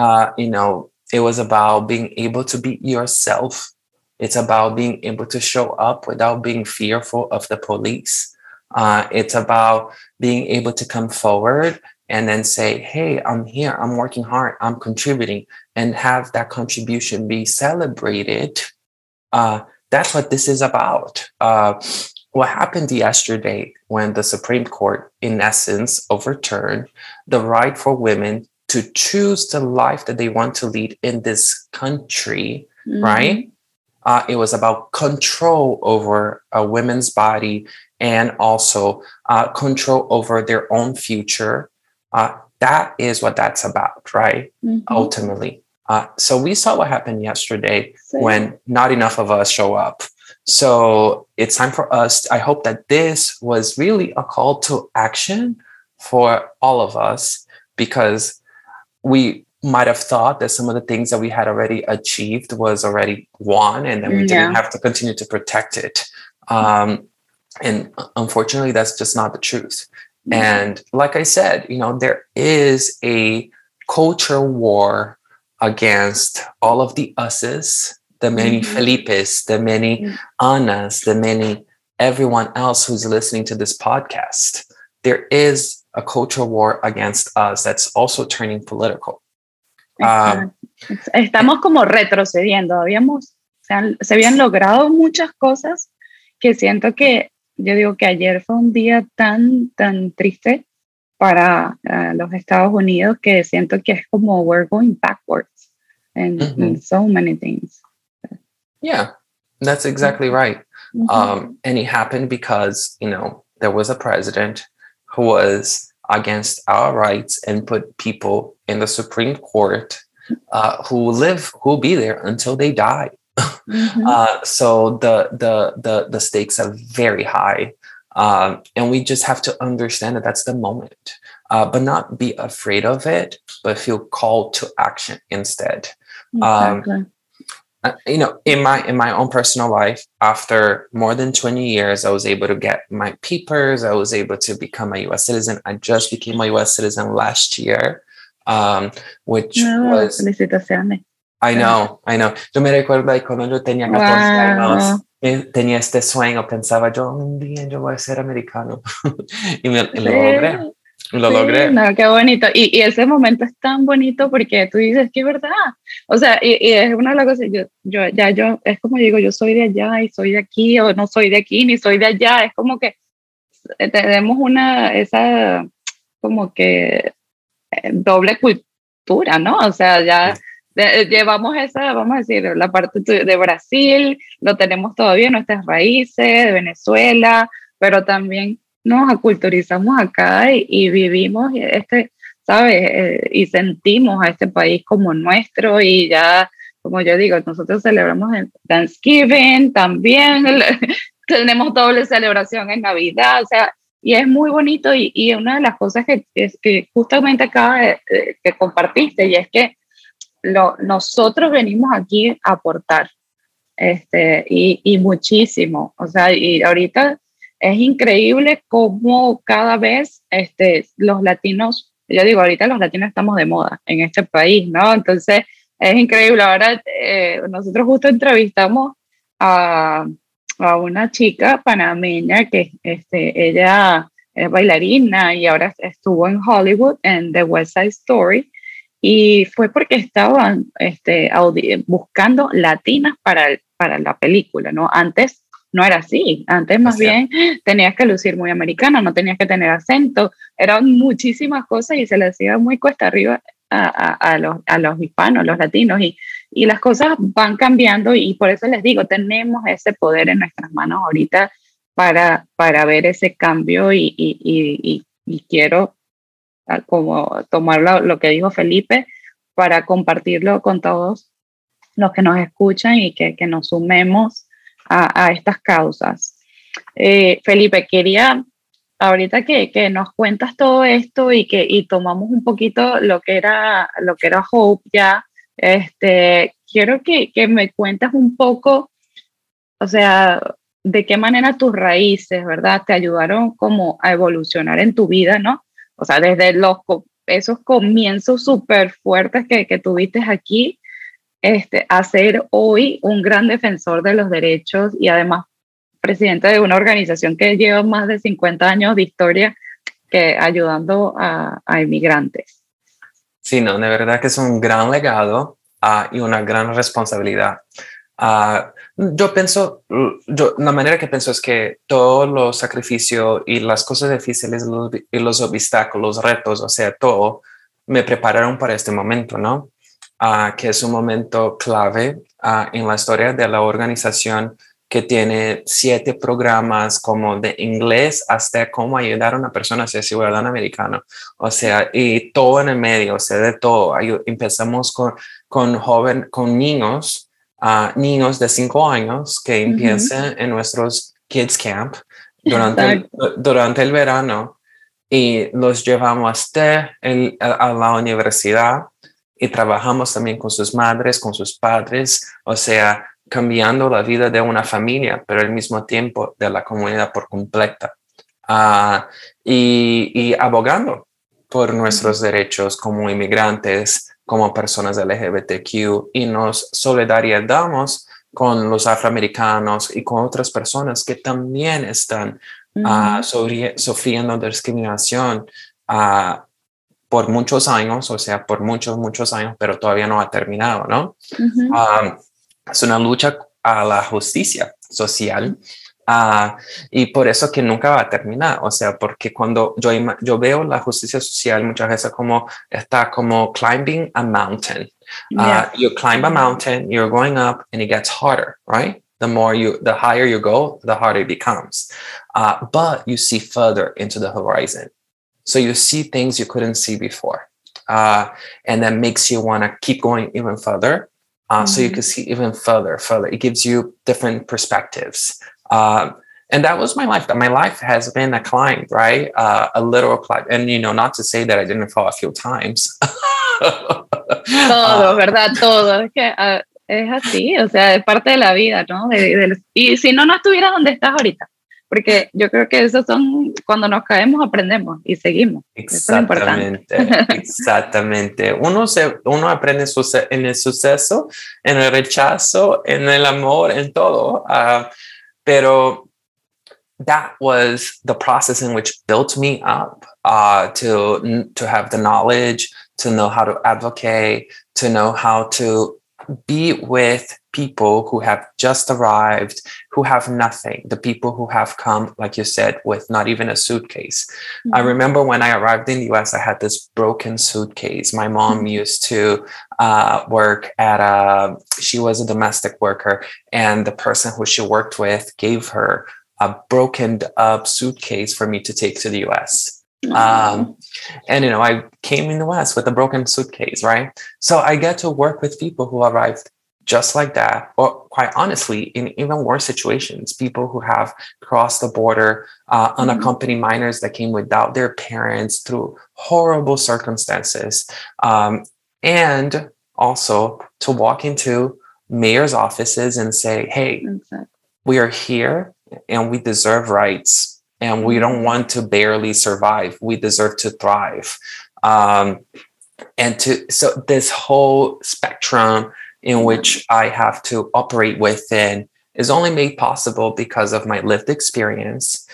It was about being able to be yourself. It's about being able to show up without being fearful of the police. It's about being able to come forward and then say, hey, I'm here, I'm working hard, I'm contributing, and have that contribution be celebrated. That's what this is about. What happened yesterday when the Supreme Court, in essence, overturned the right for women to choose the life that they want to lead in this country, right? It was about control over a women's body and also control over their own future. That is what that's about, right? Ultimately. So we saw what happened yesterday when not enough of us show up. So it's time for us. I hope that this was really a call to action for all of us, because we might have thought that some of the things that we had already achieved was already won, and then we didn't have to continue to protect it. And unfortunately, that's just not the truth. And like I said, there is a culture war against all of the us's, the many Felipes, the many Annas, the many everyone else who's listening to this podcast. There is a culture war against us that's also turning political. Estamos como retrocediendo. Se habían logrado muchas cosas que siento que yo digo que ayer fue un día tan triste para los Estados Unidos, que siento que es como we're going backwards in so many things. Yeah, that's exactly right. And it happened because, there was a president who was against our rights and put people in the Supreme Court who'll be there until they die. So the stakes are very high. And we just have to understand that that's the moment, but not be afraid of it, but feel called to action instead. Exactly. In my own personal life, after more than 20 years, I was able to get my papers. I was able to become a U.S. citizen. I just became a U.S. citizen last year, which was... Felicitaciones. I know. Yo me recuerdo de cuando yo tenía 14 años, tenía este sueño, pensaba yo, un día yo voy a ser americano. Y lo logré. No, qué bonito. Y ese momento es tan bonito porque tú dices que es verdad. O sea, y es una de las cosas, yo, es como digo, yo soy de allá y soy de aquí, o no soy de aquí ni soy de allá. Es como que tenemos esa como que doble cultura, ¿no? O sea, ya llevamos esa, vamos a decir, la parte de Brasil, lo tenemos todavía, nuestras raíces, de Venezuela, pero también nos aculturizamos acá y vivimos ¿sabes? Y sentimos a este país como nuestro y ya, como yo digo, nosotros celebramos en Thanksgiving también, tenemos doble celebración en Navidad, o sea, y es muy bonito y una de las cosas que justamente acaba que compartiste y es que nosotros venimos aquí a aportar y muchísimo, o sea, y ahorita es increíble cómo cada vez los latinos, yo digo, ahorita los latinos estamos de moda en este país, ¿no? Entonces es increíble, ahora nosotros justo entrevistamos a una chica panameña que ella es bailarina y ahora estuvo en Hollywood en The West Side Story. Y fue porque estaban buscando latinas para la película, ¿no? Antes no era así. Antes más bien tenías que lucir muy americana, no tenías que tener acento. Eran muchísimas cosas y se le hacía muy cuesta arriba a los hispanos, a los latinos. Y las cosas van cambiando y por eso les digo, tenemos ese poder en nuestras manos ahorita para ver ese cambio y quiero como tomar lo que dijo Felipe para compartirlo con todos los que nos escuchan y que nos sumemos a estas causas. Felipe, quería ahorita que nos cuentas todo esto y tomamos un poquito lo que era Hope ya, quiero que me cuentes un poco, o sea, de qué manera tus raíces, ¿verdad? Te ayudaron como a evolucionar en tu vida, ¿no? O sea, desde esos comienzos súper fuertes que tuviste aquí, a ser hoy un gran defensor de los derechos y además presidente de una organización que lleva más de 50 años de historia ayudando a inmigrantes. Sí, no, de verdad que es un gran legado y una gran responsabilidad. La manera que pienso es que todos los sacrificios y las cosas difíciles y los obstáculos, los retos, o sea, todo me prepararon para este momento, ¿no? Que es un momento clave en la historia de la organización que tiene 7 programas como de inglés hasta cómo ayudar a una persona a ser ciudadano americano. O sea, y todo en el medio, o sea, de todo. Empezamos con niños, niños de 5 años que empiezan en nuestros Kids Camp durante el verano y los llevamos hasta a la universidad y trabajamos también con sus madres, con sus padres, o sea, cambiando la vida de una familia, pero al mismo tiempo de la comunidad por completa. Y abogando por nuestros derechos como inmigrantes, como personas LGBTQ, y nos solidarizamos con los afroamericanos y con otras personas que también están sufriendo discriminación por muchos años, o sea, por muchos años, pero todavía no ha terminado, ¿no? Es una lucha a la justicia social y por eso que nunca va a terminar, o sea, porque cuando yo veo la justicia social muchas veces está como climbing a mountain. You climb a mountain, you're going up and it gets harder, right? the higher you go, the harder it becomes. But you see further into the horizon. So you see things you couldn't see before. And that makes you want to keep going even further. So you can see even further. It gives you different perspectives. And that was my life. My life has been a climb, right? A literal climb. And, not to say that I didn't fall a few times. Todo, ¿verdad? Todo. Es que es así, o sea, es parte de la vida, ¿no? Y si no, no estuvieras donde estás ahorita. Porque yo creo que esos son, cuando nos caemos, aprendemos y seguimos. Exactamente, exactamente. Uno aprende en el suceso, en el rechazo, en el amor, en todo. Pero that was the process in which built me up to have the knowledge, to know how to advocate, to know how to be with people who have just arrived, who have nothing, the people who have come, like you said, with not even a suitcase. I remember when I arrived in the US, I had this broken suitcase. My mom used to work she was a domestic worker, and the person who she worked with gave her a broken up suitcase for me to take to the US. And I came in the West with a broken suitcase, right? So I get to work with people who arrived just like that, or quite honestly, in even worse situations, people who have crossed the border, unaccompanied minors that came without their parents through horrible circumstances. And also to walk into mayor's offices and say, hey, we are here and we deserve rights. And we don't want to barely survive. We deserve to thrive. So this whole spectrum in which I have to operate within is only made possible because of my lived experience,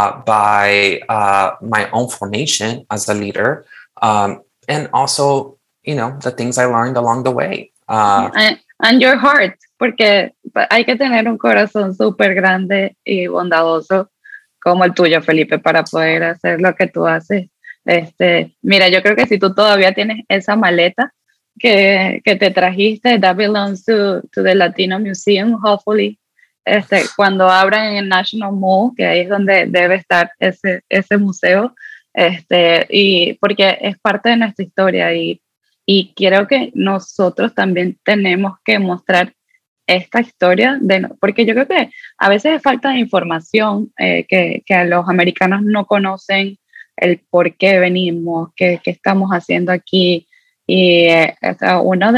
by my own formation as a leader, and also, the things I learned along the way. And your heart, porque hay que tener un corazón súper grande y bondadoso como el tuyo, Felipe, para poder hacer lo que tú haces. Mira, yo creo que si tú todavía tienes esa maleta que te trajiste, that belongs to the Latino Museum, hopefully, cuando abran en el National Mall, que ahí es donde debe estar ese museo, y porque es parte de nuestra historia y creo que nosotros también tenemos que mostrar esta historia, porque yo creo que a veces es falta de información, que a los americanos no conocen el por qué venimos, qué estamos haciendo aquí. Y uno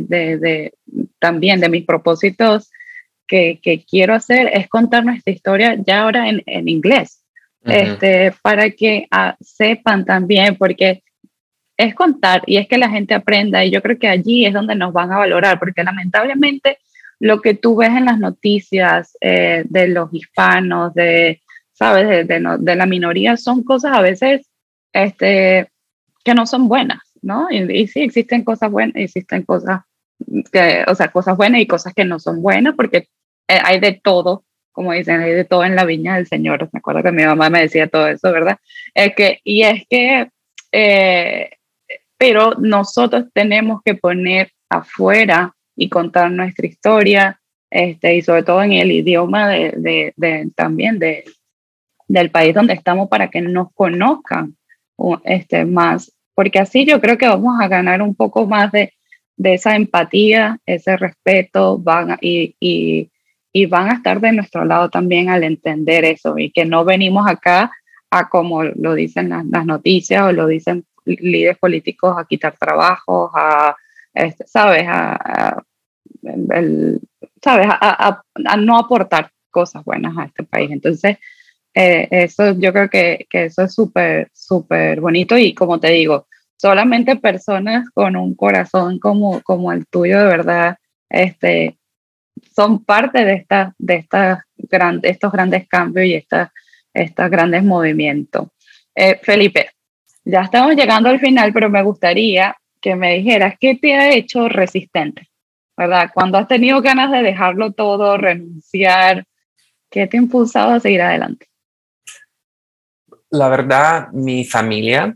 también de mis propósitos que quiero hacer es contar nuestra historia ya ahora en inglés, para que sepan también, porque es contar y es que la gente aprenda, y yo creo que allí es donde nos van a valorar, porque lamentablemente lo que tú ves en las noticias de los hispanos, ¿sabes? De la minoría, son cosas a veces que no son buenas, ¿no? Y sí, existen cosas buenas, existen cosas cosas buenas y cosas que no son buenas, porque hay de todo, como dicen, hay de todo en la viña del Señor. Me acuerdo que mi mamá me decía todo eso, ¿verdad? Pero nosotros tenemos que poner afuera y contar nuestra historia, y sobre todo en el idioma también del país donde estamos, para que nos conozcan más, porque así yo creo que vamos a ganar un poco más de esa empatía, ese respeto, y van a estar de nuestro lado también al entender eso, y que no venimos acá a, como lo dicen las noticias o lo dicen líderes políticos, a quitar trabajos, ¿sabes? A no aportar cosas buenas a este país. Entonces, eso yo creo que eso es súper, súper bonito, y como te digo, solamente personas con un corazón como el tuyo, de verdad, son parte de estos grandes cambios y estos grandes movimientos. Felipe, ya estamos llegando al final, pero me gustaría que me dijeras qué te ha hecho resistente, ¿verdad? Cuando has tenido ganas de dejarlo todo, renunciar, ¿qué te ha impulsado a seguir adelante? La verdad, mi familia,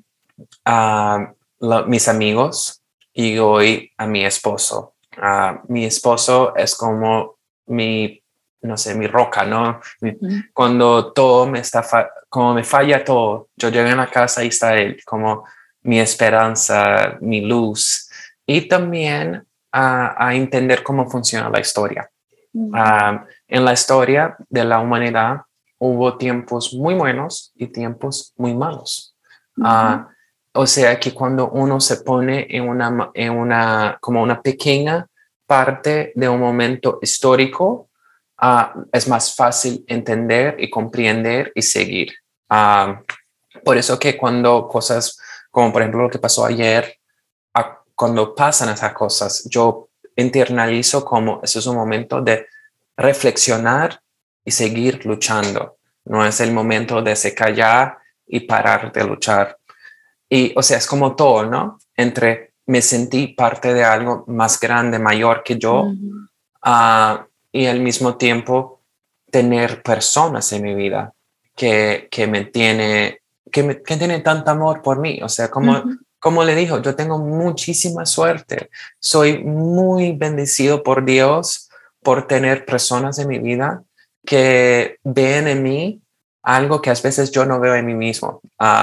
mis amigos y hoy a mi esposo. Mi esposo es como mi no sé, mi roca, ¿no? Ujú. Cuando todo como me falla todo, yo llego a la casa y está él, como mi esperanza, mi luz. Y también a entender cómo funciona la historia. En la historia de la humanidad hubo tiempos muy buenos y tiempos muy malos. Ujú. O sea que cuando uno se pone como una pequeña parte de un momento histórico, es más fácil entender y comprender y seguir. Por eso que cuando cosas como por ejemplo lo que pasó ayer, cuando pasan esas cosas, yo internalizo como eso es un momento de reflexionar y seguir luchando. No es el momento de se callar y parar de luchar. Y, o sea, es como todo, ¿no? Entre me sentí parte de algo más grande, mayor que yo, Ujú. y al mismo tiempo tener personas en mi vida que me tiene, que tienen tanto amor por mí. O sea, Ujú. como le dijo, yo tengo muchísima suerte. Soy muy bendecido por Dios por tener personas en mi vida que ven en mí algo que a veces yo no veo en mí mismo.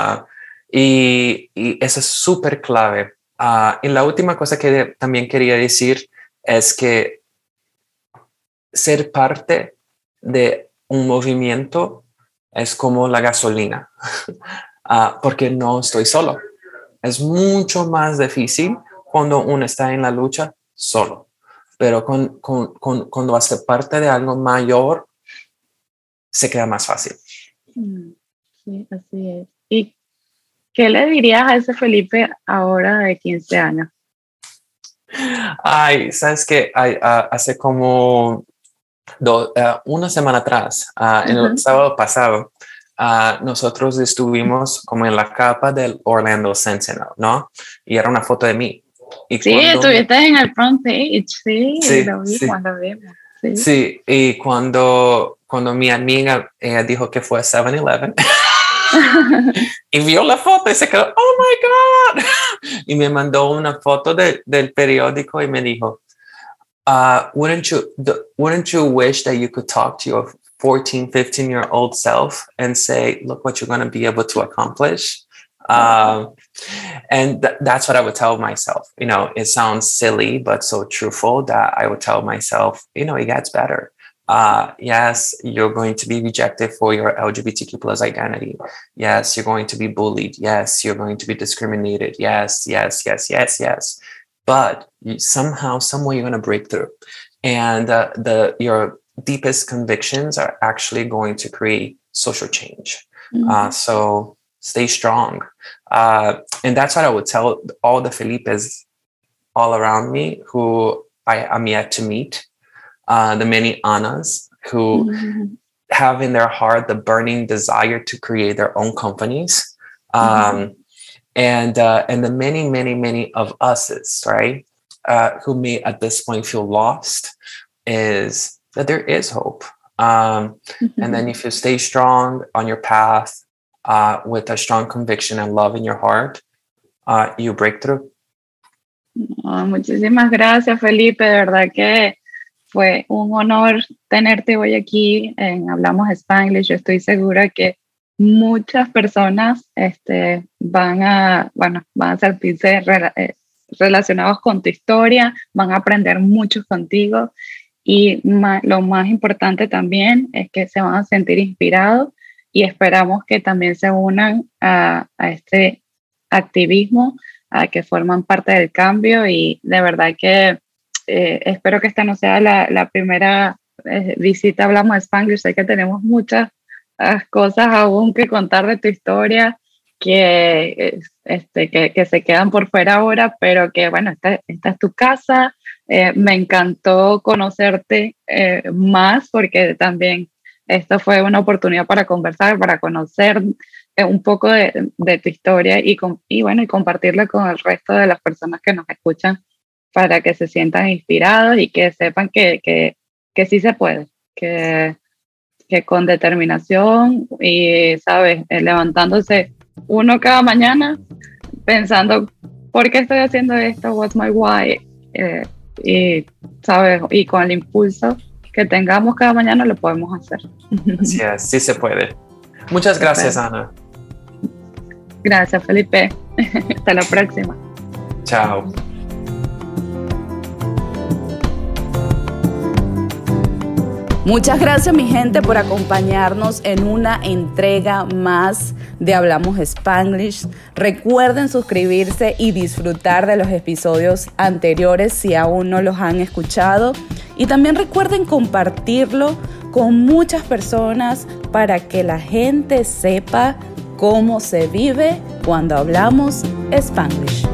Y eso es súper clave. Y la última cosa que también quería decir es que ser parte de un movimiento es como la gasolina, porque no estoy solo. Es mucho más difícil cuando uno está en la lucha solo, pero cuando hace parte de algo mayor, se queda más fácil. Mm. Sí, así es. ¿Y qué le dirías a ese Felipe ahora de 15 años? Ay, sabes que hace como una semana atrás, en el Ujú. sábado pasado, nosotros estuvimos como en la capa del Orlando Sentinel, ¿no? Y era una foto de mí. Y Sí, cuando, estuviste en el front page, sí, sí, sí, lo vimos, sí. sí, y cuando mi amiga dijo que fue a 7-Eleven y vio la foto y se quedó, oh my God, y me mandó una foto del periódico y me dijo, wouldn't you wish that you could talk to your 14, 15-year-old self and say, look what you're going to be able to accomplish? Wow. And that's what I would tell myself. You know, it sounds silly, but so truthful that I would tell myself, you know, it gets better. Yes, you're going to be rejected for your LGBTQ plus identity. Yes, you're going to be bullied. Yes, you're going to be discriminated. Yes, yes, yes, yes, yes. But somehow, some way, you're going to break through, and your deepest convictions are actually going to create social change. Ujú. So stay strong, and that's what I would tell all the Felipes all around me who I am yet to meet, the many Annas who Ujú. have in their heart the burning desire to create their own companies. Ujú. And the many, many, many of us's, right, who may at this point feel lost, is that there is hope. And then Ujú. if you stay strong on your path, with a strong conviction and love in your heart, you break through. Oh, muchísimas gracias, Felipe. De verdad que fue un honor tenerte hoy aquí en Hablamos Spanglish. Yo estoy segura que muchas personas van a sentirse relacionados con tu historia, van a aprender mucho contigo y lo más importante también es que se van a sentir inspirados y esperamos que también se unan a este activismo, a que forman parte del cambio y de verdad que espero que esta no sea la primera visita a Hablamos de Spanglish. Sé que tenemos muchas cosas aún que contar de tu historia que se quedan por fuera ahora, pero que bueno, esta es tu casa. Me encantó conocerte más porque también esto fue una oportunidad para conversar, para conocer un poco de tu historia y bueno, y compartirla con el resto de las personas que nos escuchan para que se sientan inspirados y que sepan que sí se puede, que con determinación y, ¿sabes? Levantándose uno cada mañana pensando, ¿por qué estoy haciendo esto? What's my why? Y, ¿sabes? Y con el impulso que tengamos cada mañana lo podemos hacer. Así es, sí se puede. Muchas gracias, Ana. Gracias, Felipe. Hasta la próxima. Chao. Muchas gracias, mi gente, por acompañarnos en una entrega más de Hablamos Spanglish. Recuerden suscribirse y disfrutar de los episodios anteriores si aún no los han escuchado. Y también recuerden compartirlo con muchas personas para que la gente sepa cómo se vive cuando hablamos Spanglish.